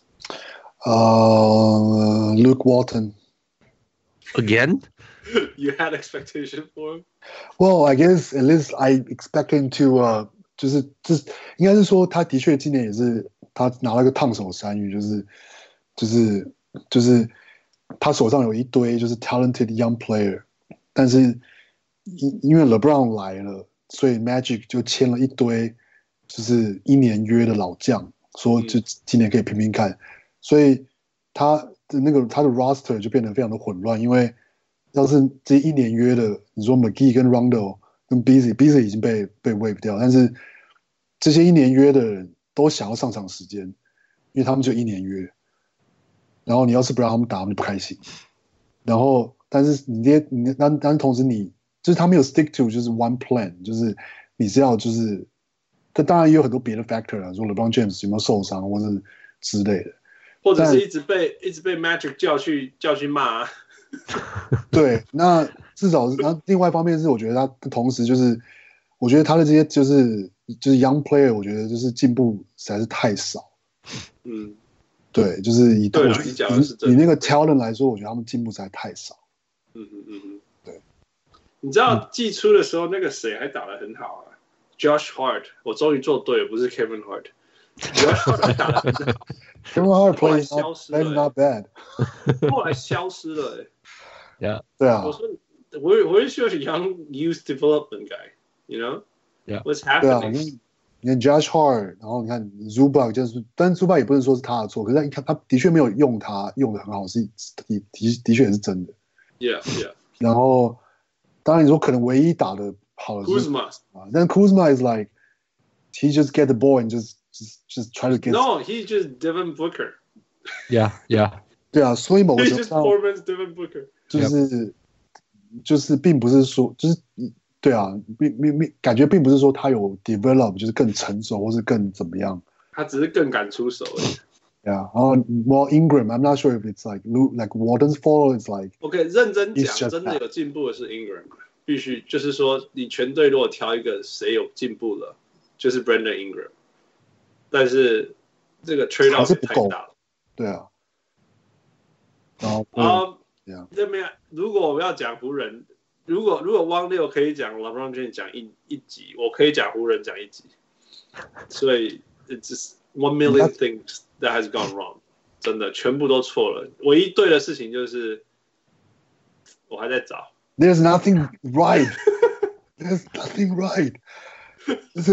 Uh, Luke Walton. Again? You had expectation for him? Well, I guess at least I expect him to. Uh, 就是就是应該是說，他的確今年也是他拿了個燙手山芋，就是就是就是他手上有一堆就是 talented young player， 但是因因為 LeBron 來了，所以 Magic 就簽了一堆就是一年約的老將，說就今年可以拼拼看，所以他的那個他的 roster 就變得非常的混亂，因為要是這一年約的，你說 McGee 跟 Rondo 跟 Beasley，Beasley 已經被被 waive 掉，但是這些一年約的人都想要上場時間，因為他們就一年約。然後你要是不讓他們打，他們就不開心。然後，但是你這些你但但同時你就是他沒有 stick to 就是 one plan， 就是你是要就是，但當然也有很多別的 factor 啊，說 LeBron James 有沒有受傷或是之類的， 或者是一直被一直被 Magic 叫去叫去罵、啊。 對，那至少是，那另外一方面是，我覺得他同時就是，我覺得他的這些就是就是 young player， 我覺得就是進步實在是太少。 嗯， 對，就是以對我覺得以以那個 talent 來說，我覺得他們進步實在太少。 嗯嗯嗯嗯， 對。 你知道季初的時候，那個誰還打得很好啊 ？Josh Hart， 我終於做對了，不是 Kevin Hart。Josh Hart 還打得很好。 Kevin Hart plays not, not, not bad。 後來消失了、欸。 Yeah. 对啊。 我说 ，Where Where's your young youth development guy? You know? Yeah. What's 对啊， happening? 你看 Josh Hart， 然後你看 Zubac， 就是，但 Zubac 也不能說是他的錯，可是他他他的確沒有用他用的很好，是的的的確也是真的。 Yeah, yeah. 然後，當然你說可能唯一打的好的是 Kuzma 啊，但 Kuzma is like he just get the ball and just just just try to get. No, he just Devin Booker. Yeah, yeah. 對啊，所以某個程度上 ，He just performance Devin Booker. 就是、yep. 就是並不是說就是對啊，并并并感覺並不是說他有 develop 就是更成熟或是更怎麼樣， 他只是更敢出手而已。 Yeah, 然後 Well Ingram, I'm not sure if it's like like Walton's fault. It's like OK， 認真講，真的有進步的是 Ingram， 必須就是說，你全隊如果挑一個誰有進步了，就是 Brandon Ingram。但是這個 trade off 也太大了。 對啊。然後啊， 這邊如果我們要講湖人，如果如果汪六可以講 LeBron James 講一一集，我可以講湖人講一集。所以 it's just one million things that has gone wrong， 真的全部都錯了。唯一对的事情就是我還在找。 There's nothing right. There's nothing right. 就是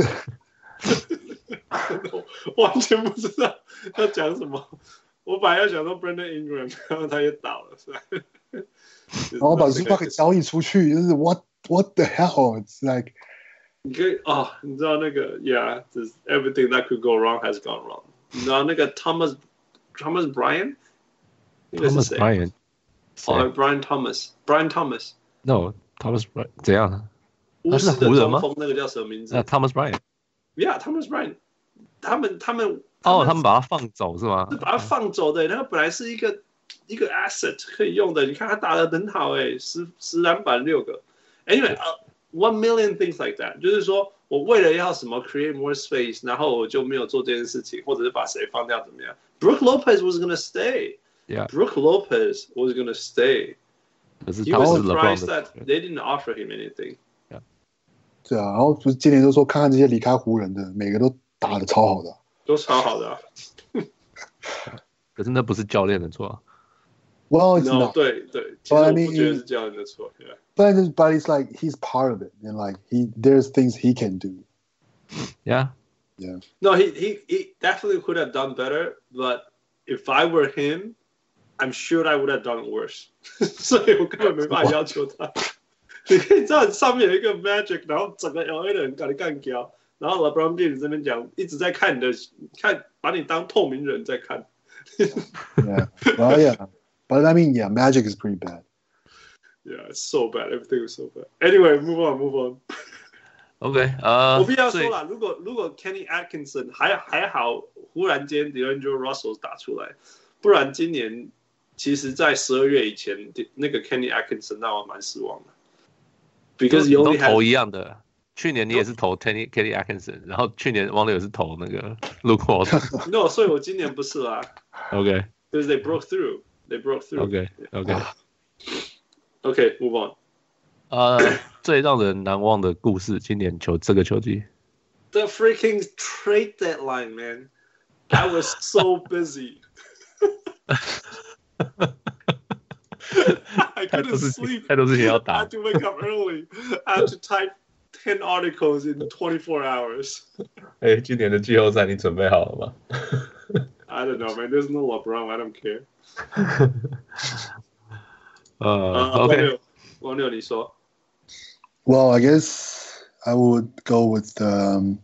完全不知道要講什麼。我本來要想說 Brandon Ingram， 然後他也倒了，是吧？ 然後把 Zubac 給交易出去，就是 What What the hell? It's like 你可以哦，你知道那個 Yeah, just everything that could go wrong has gone wrong。你知道那個 Thomas Thomas Bryant， 那個是誰 ？Thomas Bryant， 哦 ，Brian Thomas，Brian Thomas。 No, Thomas Bryant 怎樣？ 巫師的中鋒那個叫什麼名字？ 那 Thomas Bryant。Yeah, Thomas Bryant。他們他們哦，他們把他放走是嗎？ 是把他放走的，那個本來是一個一個 asset 可以用的。你看他打得很好哎，十十籃板六個。Anyway，uh, one million things like that， 就是說我為了要什麼 create more space， 然後我就沒有做這件事情，或者是把誰放掉怎麼樣 ？Brook Lopez was gonna stay. Yeah. Brook Lopez was gonna stay. 可是 he was surprised that they didn't offer him anything. Yeah. 對啊，然後不是今年就說看看這些離開湖人的，每個都打得超好的、啊， 都超好的、啊。 可是那不是教練的錯、啊。 Well, it's no, not. 對對，其實我不覺得是教練的錯。Yeah. But but it's like he's part of it, and like he there's things he can do. Yeah. Yeah. No, he he he definitely could have done better. But if I were him, I'm sure I would have done worse. 所以我根本沒辦法要求他。你可以知道上面有一個 Magic， 然後整個 L A 的人把你幹掉，然後 LeBron James 這邊講一直在看你的，看把你當透明人在看。 Yeah. Well, yeah. But I mean, yeah, Magic is pretty bad. Yeah, it's so bad. Everything was so bad. Anyway, move on, move on. OK， 呃、uh, ， 我必須要說啦，如果如果 Kenny Atkinson 還還好，忽然間 D'Angelo Russell 打出來，不然今年其實在十二月以前，那個 Kenny Atkinson 讓我蠻失望的。Because you only 都投一樣的，去年你也是投 Kenny Kenny Atkinson， 然後去年汪六也是投那個 Luke Walton。 No， 所以我今年不是啦。 OK， because they broke through. They broke through. OK OK OK move on. 呃，最讓人難忘的故事，今年球這個球季。 The freaking trade deadline, man. I was so busy. I couldn't sleep. 太多事情要打。 I had to wake up early. I had to type ten articles in twenty-four hours. 哎、欸，今年的季後賽你準備好了嗎 ？I don't know, man. There's no LeBron. I don't care. 呃、uh, ，OK， 王六，你說。 Well, I guess I would go with um,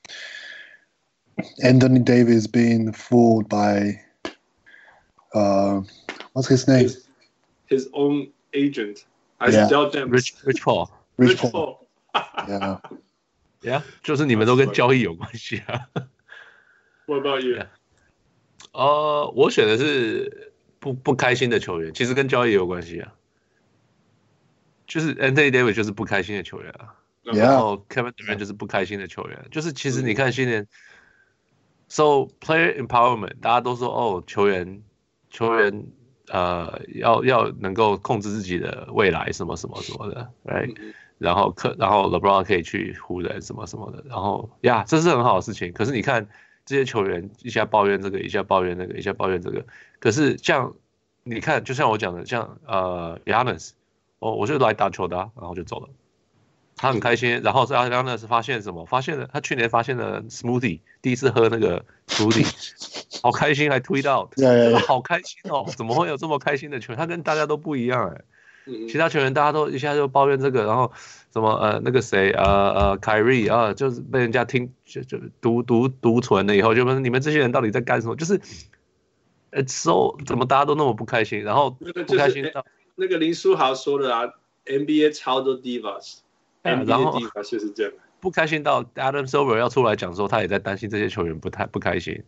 Anthony Davis being fooled by uh, what's his name? His, his own agent. I yeah. Dell Demps. Rich Rich Paul. Rich, Rich Paul. Paul. yeah. Yeah, 就是你們都跟交易有關係啊。 What about you? Yeah. 呃，我選的是不不開心的球員，其實跟交易也有關係啊。就是 Anthony Davis 就是不開心的球員啊， Yeah. 然後 Kevin Durant 就是不開心的球員，就是其實你看今年 ，so player empowerment 大家都說哦，球員球員呃要要能夠控制自己的未來什麼什麼什麼的 ，right？、嗯、然後可然後 LeBron 可以去湖人什麼什麼的，然後呀，這是很好的事情。可是你看這些球員一下抱怨這個，一下抱怨那個，一下抱怨這個，可是像你看，就像我講的，像呃 Giannis。哦，我就來打球的、啊，然後就走了。他很開心，然後是阿亮呢是發現什麼？發現了他去年發現了 smoothie， 第一次喝那個 smoothie， 好開心，還 tweet out， yeah, yeah. 好開心哦！怎麼會有這麼開心的球員？他跟大家都不一樣哎。其他球員大家都一下就抱怨這個，然後什麼呃那個誰呃呃 Kyrie 啊，就是被人家聽就就讀讀讀存了以後，就問你們這些人到底在幹什麼？就是 it's so 怎麼大家都那麼不開心，然後不開心到。 那個林書豪說的啊 ，N B A 超多 divas，N B A divas 就是這樣。 不開心到 Adam Silver 要出來講說，他也在擔心這些球員不太不開心。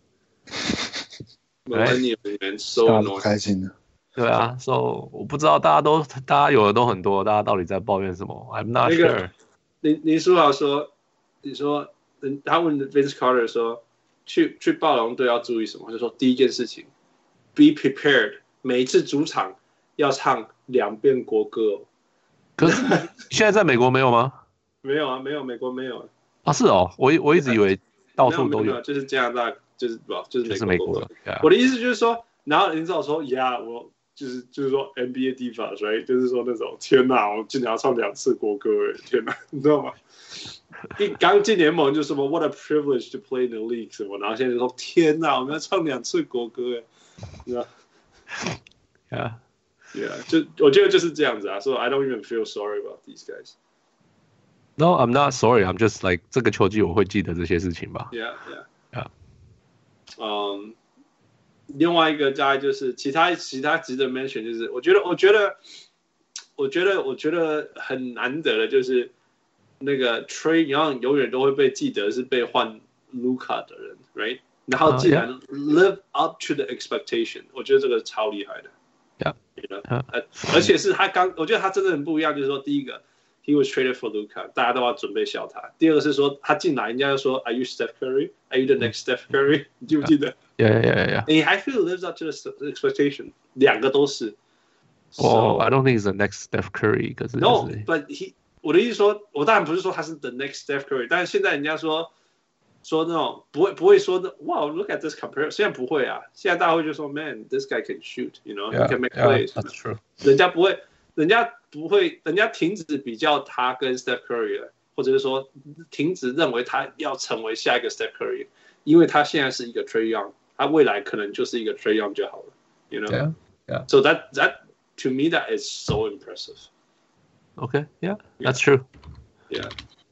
對， so 不開心的。 對啊 ，so 我不知道大家都大家有的都很多，大家到底在抱怨什麼 ？I'm not sure。那個林林書豪說，你說他問 Vince Carter 說，去去暴龍隊要注意什麼？就說第一件事情 ，be prepared， 每一次主場要唱兩遍國歌哦。 可是現在在美國沒有嗎？ 沒有啊，沒有，美國沒有啊。是哦，我我一直以為到處都有。 沒有沒有，就是加拿大，就是不，就是美國的。 Yeah. 我的意思就是說，然後林書豪說呀，我就是就是說 N B A divas，right？ 就是說那種天哪，我今年要唱兩次國歌，哎，天哪，你知道嗎？一剛進聯盟就什麼 What a privilege to play in the league 什麼，然後現在就說天哪，我們要唱兩次國歌，哎，你知道 ？Yeah. Yeah， 就我覺得就是這樣子啊，所以 I don't even feel sorry about these guys. No, I'm not sorry. I'm just like 這個球季我會記得這些事情吧。 Yeah, yeah, yeah. 嗯、um, 另外一個大概就是其他其他值得 mention 就是我覺得我覺得我覺得我覺得很難得的就是那個 Trae Young 永遠都會被記得是被換 Luka 的人 ，right？ 然後竟然 live up to the expectation， 我覺得這個超厲害的。 Yeah. You know? 而且是他剛，我覺得他真的很不一樣，就是說，第一個 ，he was traded for Luka， 大家都要準備笑他。第二個是說，他進來，人家就說 ，Are you Steph Curry? Are you the next Steph Curry? 你記不記得 ？Yeah, yeah, yeah, yeah. And I feel lives up to the expectation， 兩個都是。 Oh, so, I don't think he's the next Steph Curry， 可是 no, but he， 我的意思說，我當然不是說他是 the next Steph Curry， 但是現在人家說。說那種不會不會說的哇 look at this comparison， 現在不會啊，現在大家會就說 man this guy can shoot you know yeah, he can make plays， yeah, that's true。 人家不會人家不會人家停止比較他跟 Steph Curry 了，或者是說停止認為他要成為下一個 Steph Curry， 因為他現在是一個 Trae Young， 他未來可能就是一個 Trae Young 就好了 you know yeah, yeah. so that that to me that is so impressive okay yeah that's true yeah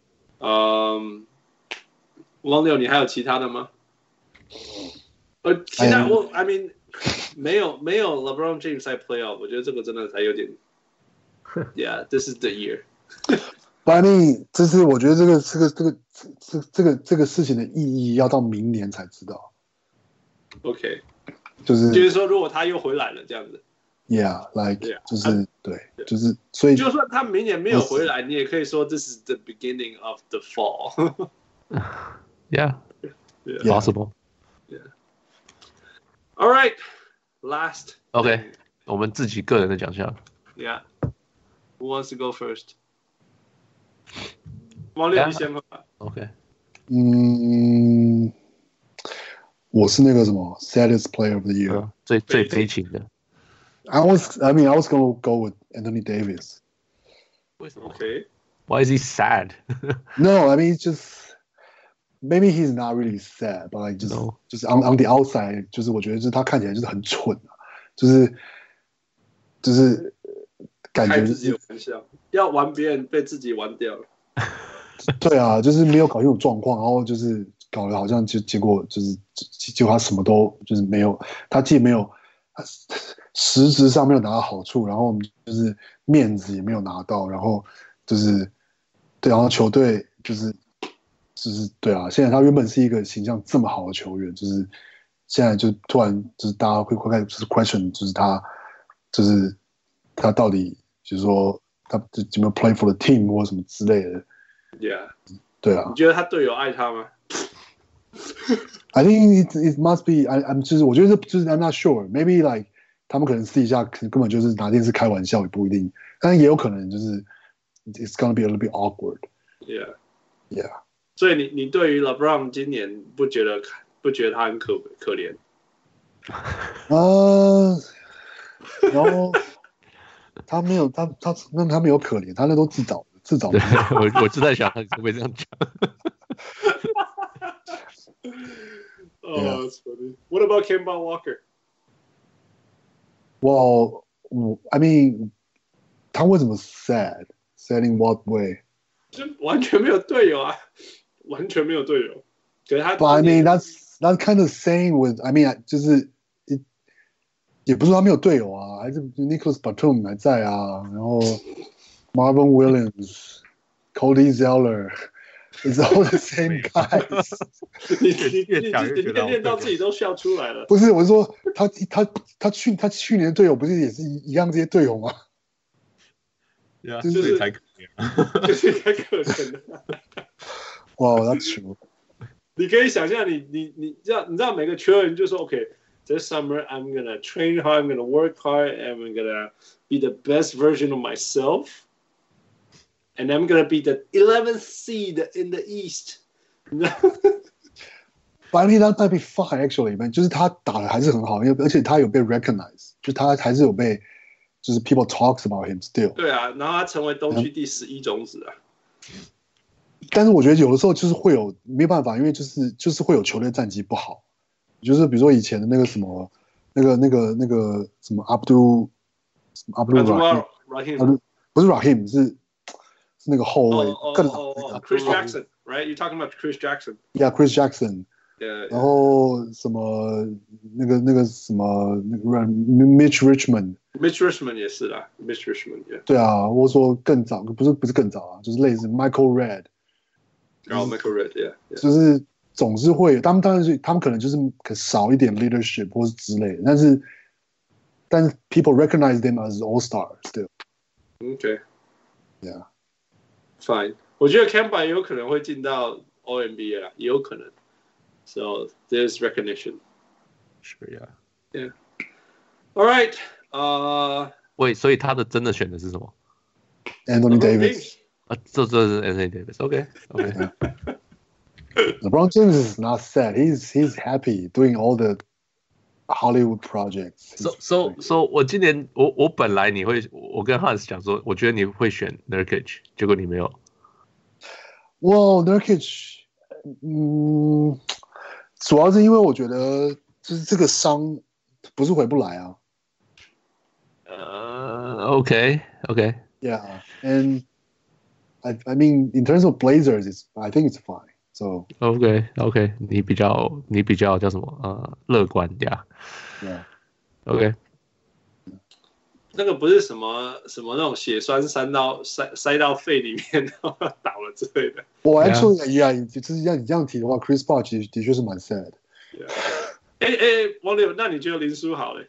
um王六，你還有其他的嗎？呃，其他我 I mean 沒有沒有 LeBron James 在 playoff， 我覺得這個真的才有點 ，Yeah， this is the year 。 But I mean， 這是我覺得這個這個這個這這個這個事情的意義要到明年才知道。 OK， 就是就是說，如果他又回來了這樣子 ，Yeah，like yeah, 就是、啊、對，就是所以就算他明年沒有回來，你也可以說 This is the beginning of the fall 。 Yeah, yeah, possible. Yeah. All right, last. OK, 我們自己個人的獎項。 Yeah. Who wants to go first? 王六，你先吧。 OK. 嗯，我是那個什麼 Saddest Player of the Year，、嗯、 最最悲情的。 I was, I mean, I was gonna go with Anthony Davis. 為什麼 ？Okay. Why is he sad? No, I mean, it's just.Maybe he's not really sad, but like just no. 就是 on on the outside， 就是我覺得就是他看起來就是很蠢啊，就是就是感覺、就是、 開自己的玩笑，要玩別人被自己玩掉了。 對啊，就是沒有搞清楚狀況，然後就是搞得好像就結果就是結果他什麼都就是沒有，他既沒有他實質上沒有拿到好處，然後就是面子也沒有拿到，然後就是對，然後球隊就是就是對啊，現在他原本是一個形象這麼好的球員，就是現在就突然就是大家會會開始就是 question， 就是他就是他到底就是說他有沒有 play for the team 或什麼之類的。 Yeah， 對啊， 你覺得他隊友愛他嗎 ？I think it it must be I I'm 就是我覺得就是 I'm not sure maybe like 他們可能私底下根本就是拿電視開玩笑也不一定，但也有可能就是 it's gonna be a little bit awkward. Yeah, yeah. 所以你你對於 LeBron 今年不覺得不覺得他很可可憐？ 呃，然後他沒有他他那他沒有可憐，他那都自找的。自找的， 我我就在想，他会不會這樣講 ？Oh, that's funny. What about Kemba Walker? Well, I mean, 他為什麼 sad? Sad in what way? 就完全沒有隊友啊，完全沒有隊友。可是他 ，But I mean, that's that's kind of same with. I mean, 就是也不是說他沒有隊友啊，還是 Nicholas Batum 還在啊，然後 Marvin Williams。Cody Zeller, it's all the same guys 你。你你你你你练到自己都笑出來了。 不是，我是說他他他去他去年的隊友不是也是一樣這些隊友嗎？ 對啊， 就是所以才可憐， 就是才可憐的。 哇， wow, that's true。 你可以想象你，你你你知道你知道每個球員就說 OK。This summer, I'm gonna train hard. I'm gonna work hard. And I'm gonna be the best version of myself. And I'm gonna be the eleventh seed in the East. But I mean, that might be fine actually, man. 就是他打的還是很好，因為而且他有被 recognize， 就他還是有被，就是 people talks about him still。 對啊，然後他成為東區第十一種子啊。 但是我覺得有的時候就是會有沒有辦法，因為就是就是會有球隊戰績不好，就是比如說以前的那個什麼那個那個那個什麼 Abdul 什麼 Abdul Rahim， 不是 Rahim 是。那個後衛更老、那個、 Chris Jackson, right? You're talking about Chris Jackson. Yeah, Chris Jackson. Yeah. 然後什麼那個那個什麼那個 Mitch Richmond. Mitch Richmond 也是啦 ，Mitch Richmond. Yeah. 對啊，我說更早，不是不是更早啊，就是類似 Michael Redd. 然後、oh, Michael Redd, yeah, yeah. 就是總是會，他們當然是他們可能就是可少一點 leadership 或是之類的，但是但是 people recognize them as all stars still. Okay. Yeah. Fine， 我覺得 Kemba 也有可能會進到 All N B A 啦，也有可能。So there's recognition. Sure, yeah. Yeah. All right. 呃， 喂，所以他的真的選的是什麼 ？Anthony Davis。 啊，這這是 Anthony Davis. OK, OK. LeBron James is not sad. He's he's happy doing all the Hollywood projects. So so so 我今年我我本來你會我跟 Hans 講說，我覺得你會選 Nurkic， 結果你沒有。 Well, Nurkic， 嗯，主要是因為我覺得就是這個傷不是回不來啊。 呃、uh, ，OK OK。 Yeah, and I I mean in terms of Blazers, it's I think it's fine. So OK OK， 你比較你比較叫什麼呃樂觀呀 ？Yeah. OK。 那個不是什麼什麼那種血栓塞到塞塞到肺裡面然後倒了之類的。 我 actually yeah， 就是要你這樣提的話 ，Chris Paul 其實的確是蠻 sad。 哎哎，王柳，那你覺得林書豪嘞？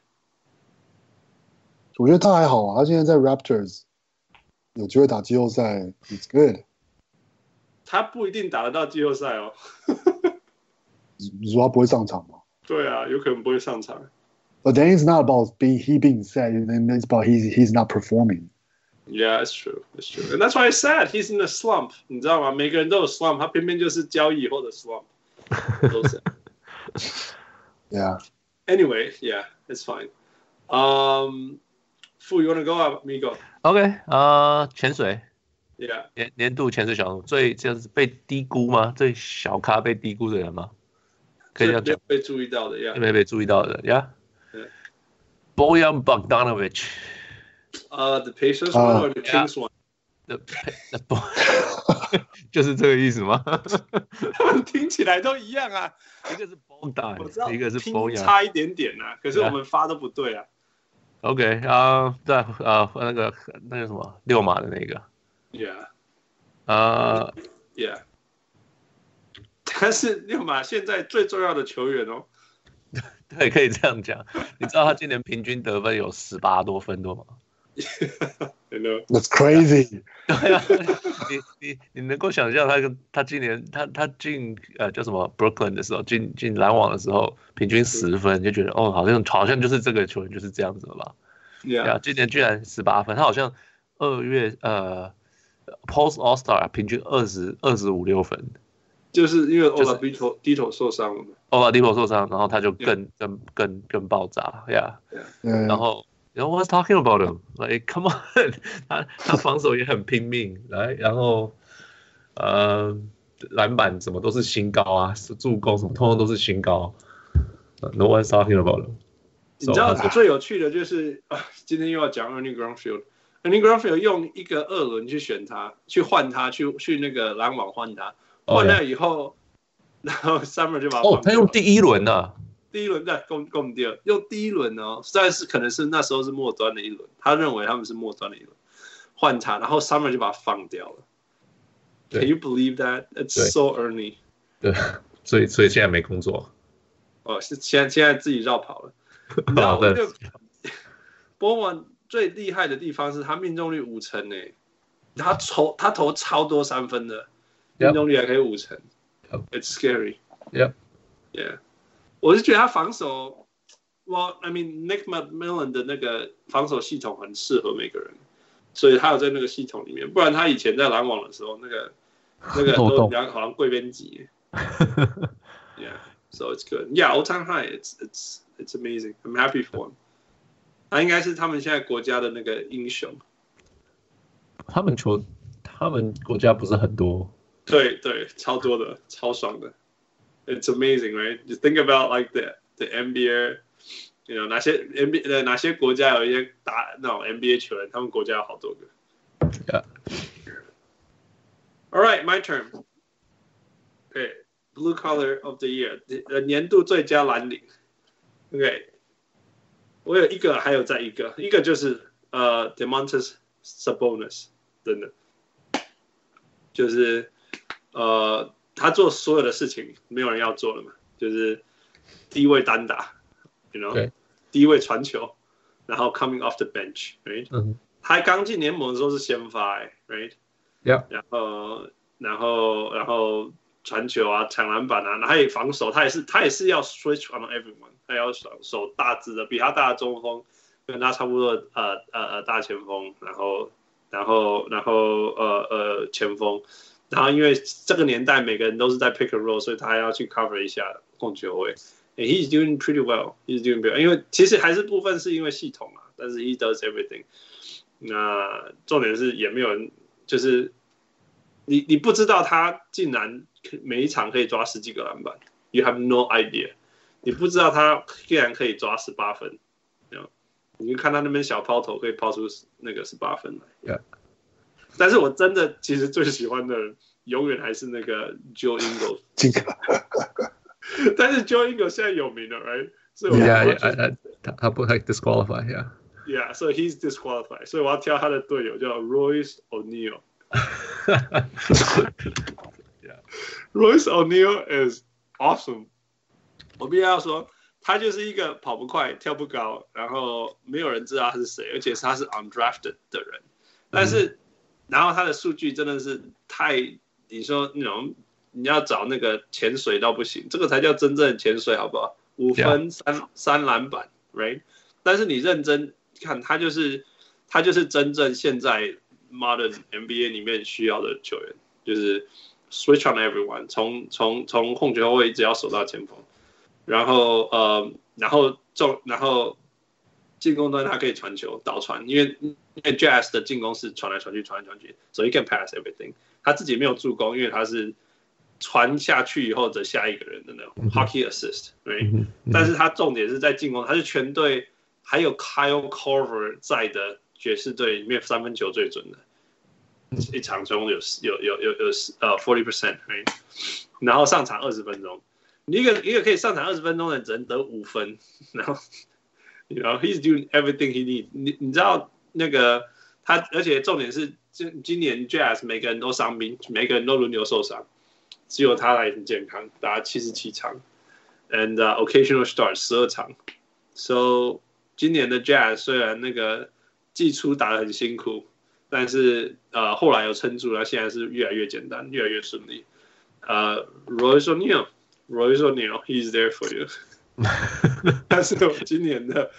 我覺得他還好啊，他現在在 Raptors 有機會打季後賽 ，It's good。 他不一定打得到季後賽哦。 你說他不會上場嗎？ 對啊，有可能不會上場。 But then it's not about being he being sad, and it's about he's he's not performing. Yeah, that's true. That's true. And that's why it's sad. He's in a slump. 你知道嗎？每個人都有 slump， 他偏偏就是交易以後的 slump。都是。 Yeah. Anyway, yeah, it's fine. Um, Fu, you wanna go up? Me go. OK， 呃，潛水。 Yeah. 年年度潛水小人物最就是被低估嗎？最小咖被低估的人嗎？可以這樣講。 被注意到的，呀。 沒被注意到的，呀。 Yeah. Bojan Bogdanovic。 呃、uh, ，the Pacers one or the Kings one？The the 就是這個意思嗎？ 他們聽起來都一樣啊， 一個是 Bondi， 我知道， 一個是 Bondi，拼差一點點啊，可是我們發都不對啊。 OK 啊，在啊那個那個什麼六馬的那個 ，Yeah， 啊 ，Yeah， 但是六馬現在最重要的球員哦。 對，可以這樣講。你知道他今年平均得分有十八多分多嗎 ？That's crazy。 對啊，你你你能夠想象他跟他今年他他進呃叫什麼 Brooklyn 的時候，進進籃網的時候，平均十分，你就覺得哦，好像好像就是這個球員就是這樣子了吧 ？Yeah， 今年居然十八分，他好像二月呃 Post All Star 平均二十二十五六分。 就是因為 Oladipo 低頭受傷了嘛 ，Oladipo 受傷，然後他就更、yeah. 更更更爆炸 ，Yeah， yeah. 然後然後 What's talking about him？ Like come on， 他他防守也很拼命，來，然後呃籃板什麼都是新高啊，助攻什麼通通都是新高 ，No one's talking about him。 你知道最有趣的就是啊，今天又要講 Ernie Grunfeld，Ernie Grunfeld 用一個二輪去選他，去換他，去去那個籃網換他。換了以後， oh, yeah. 然後 Summer 就把他放掉了。哦， 他用第一輪的、啊， 第一輪對，攻攻第二，用第一輪哦，但是可能是那時候是末端的一輪，他認為他們是末端的一輪，換他，然後 Summer 就把他放掉了。Can you believe that? It's so Ernie。 對，所以所以現在沒工作。 哦，是現在現在自己繞跑了。你知道那個波文最厲害的地方是他命中率五成誒，他投他投超多三分的。命中率還可以五成 ，It's scary. Yeah, yeah. 我是覺得他防守 ，Well, I mean Nick McMillan 的那個防守系統很適合每個人，所以他有在那個系統裡面。不然他以前在籃網的時候，那個那個都兩好像貴賓級。Yeah, so it's good. Yeah, all time high. It's it's it's amazing. I'm happy for him. 他應該是他們現在國家的那個英雄。 他們球，他們國家不是很多。 對對，超多的，超爽的。It's amazing, right? Just think about like the the N B A, you know 哪些 N B A 哪些國家有一些打那種 N B A 球員，他們國家有好多個。 Yeah. All right, my turn. Okay, blue collar of the year, 年度最佳藍領。Okay, 我有一個，還有再一個，一個就是呃 Domantas Sabonis， 真的，就是。呃，他做所有的事情，沒有人要做了嘛，就是低位單打 ，you know， 低位傳球，然後 coming off the bench，right？、嗯、他剛進聯盟的時候是先發、欸、，right？Yeah. 然後，然後，然後傳球啊，搶籃板啊，然後他也防守，他也是，他也是要 switch on everyone， 他要守守大隻的，比他大的中鋒，跟他差不多的呃呃呃大前鋒，然後，然後，然後呃呃前鋒。然後因為這個年代每個人都是在 pick and roll， 所以他還要去 cover 一下控球位。And he's doing pretty well. He's doing well. 因為其實還是部分是因為系統啊，但是 he does everything。那重點是也沒有人，就是你你不知道他竟然每一場可以抓十幾個籃板 ，You have no idea。你不知道他竟然可以抓十八分，你就看他那邊小拋投可以拋出那個十八分來。Yeah. 但是我真的其實最喜歡的永遠還是那個 Joe Ingles。但是 Joe Ingles 現在有名了 ，right？ 所以我 yeah, yeah, 他他不太 disqualify， yeah。 Yeah, so he's disqualified。所以我要挑他的隊友叫 Royce O'Neal。yeah. Royce O'Neal is awesome。我必須要說，他就是一個跑不快、跳不高，然後沒有人知道他是誰，而且他是 undrafted 的人，但是。嗯然後他的數據真的是太，你說那種你要找那個潛水到不行，這個才叫真正潛水，好不好？五分三、yeah. 三籃板 ，right？ 但是你認真看，他就是他就是真正現在 modern N B A 裡面需要的球員，就是 switch on everyone， 從從從控球後衛一直要守到前鋒，然後呃，然後中然後。進攻端他可以傳球導傳，因為因為 Jazz 的進攻是傳來傳去傳來傳去，所以 he can pass everything。他自己沒有助攻，因為他是傳下去以後的下一個人的那種 hockey assist，right？、嗯、但是他重點是在進攻，他是全隊還有 Kyle Korver 在的爵士隊裡面三分球最準的，一場中有有有有有呃 forty percent，right？ 然後上場二十分鐘，你一個一個可以上場二十分鐘的人只能得五分，然後 you know he's doing everything he needs 你。你你知道那個他，而且重點是，今今年 Jazz 每個人都傷兵，每個人都輪流受傷，只有他來很健康，打七十七場 ，and、uh, occasional start 十二場。So 今年的 Jazz 雖然那個季初打得很辛苦，但是呃後來又撐住了，現在是越來越簡單，越來越順利。呃、uh, ，Royce O'Neal，Royce O'Neal，he's there for you 。但是我今年的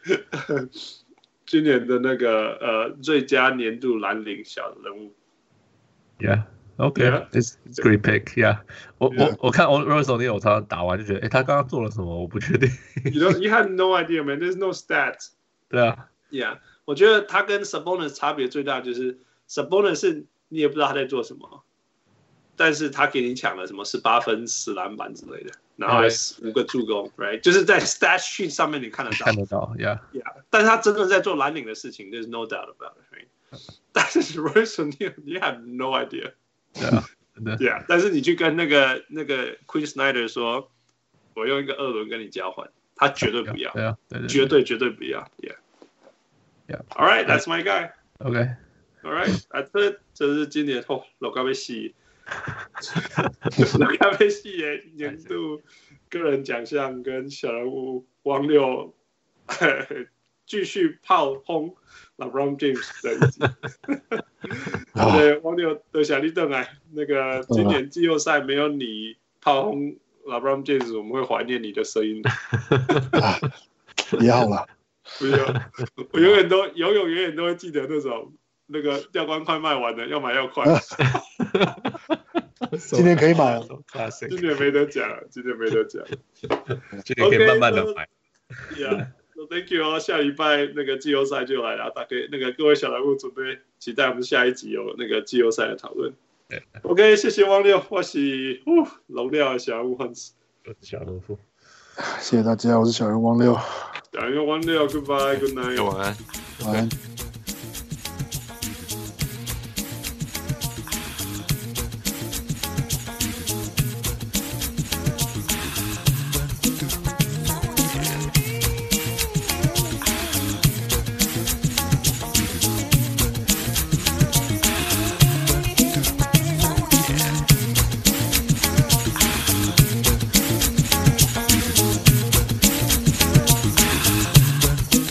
今年的那個呃最佳年度藍領小人物 ，Yeah。Okay, yeah. it's it's a great pick. Yeah, 我 yeah. 我我看 Royce O'Neal 我常常打完就覺得，哎，他剛剛做了什麼？我不確定。 you don't, you had no idea, man. There's no stats. 對啊 ，Yeah， 我覺得他跟 Sabonis 差別最大就是 Sabonis 是你也不知道他在做什麼，但是他給你搶了什麼十八分、十籃板之類的，然後還五個助攻 ，right？ 就是在 stat sheet 上面你看得到， 看得到 ，Yeah， Yeah。但是他真的在做藍領的事情 ，There's no doubt about it, right？ 但是 Royce O'Neal, you have no idea。 对啊，对對啊，但是你去跟那個那個 Quinn Snyder 說，我用一個二輪跟你交換，他絕對不要， 對啊，對對， 絕對絕對不要 ，Yeah，Yeah。All right, that's my guy. Okay. All right, that's it. 這是今年哦，老咖啡系，老咖啡系耶年度個人獎項跟小人物汪六繼續炮轟 LeBron James 的一集。對，汪六多謝你回來。那個今年季後賽沒有你炮轟 LeBron James， 我們會懷念你的聲音。 也好了， 不用，我永遠都永永遠遠都會記得那種那個吊冠快賣完了，要買要快。 今年可以買了， 今年沒得講，今年沒得講。 今年可以慢慢的買。 Yeah。So thank you 哦，下禮拜那個季後賽就來了，大家那個各位小人物準備期待我們下一集有那個季後賽的討論。OK， 謝謝汪六，我是龍料的小人物漢斯， 小人物。 謝謝大家，我是小人汪六。 小人汪六 ，Goodbye，Good night， 晚安， 晚安。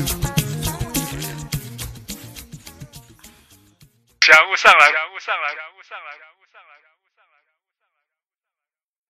小人物上來，小人物上來。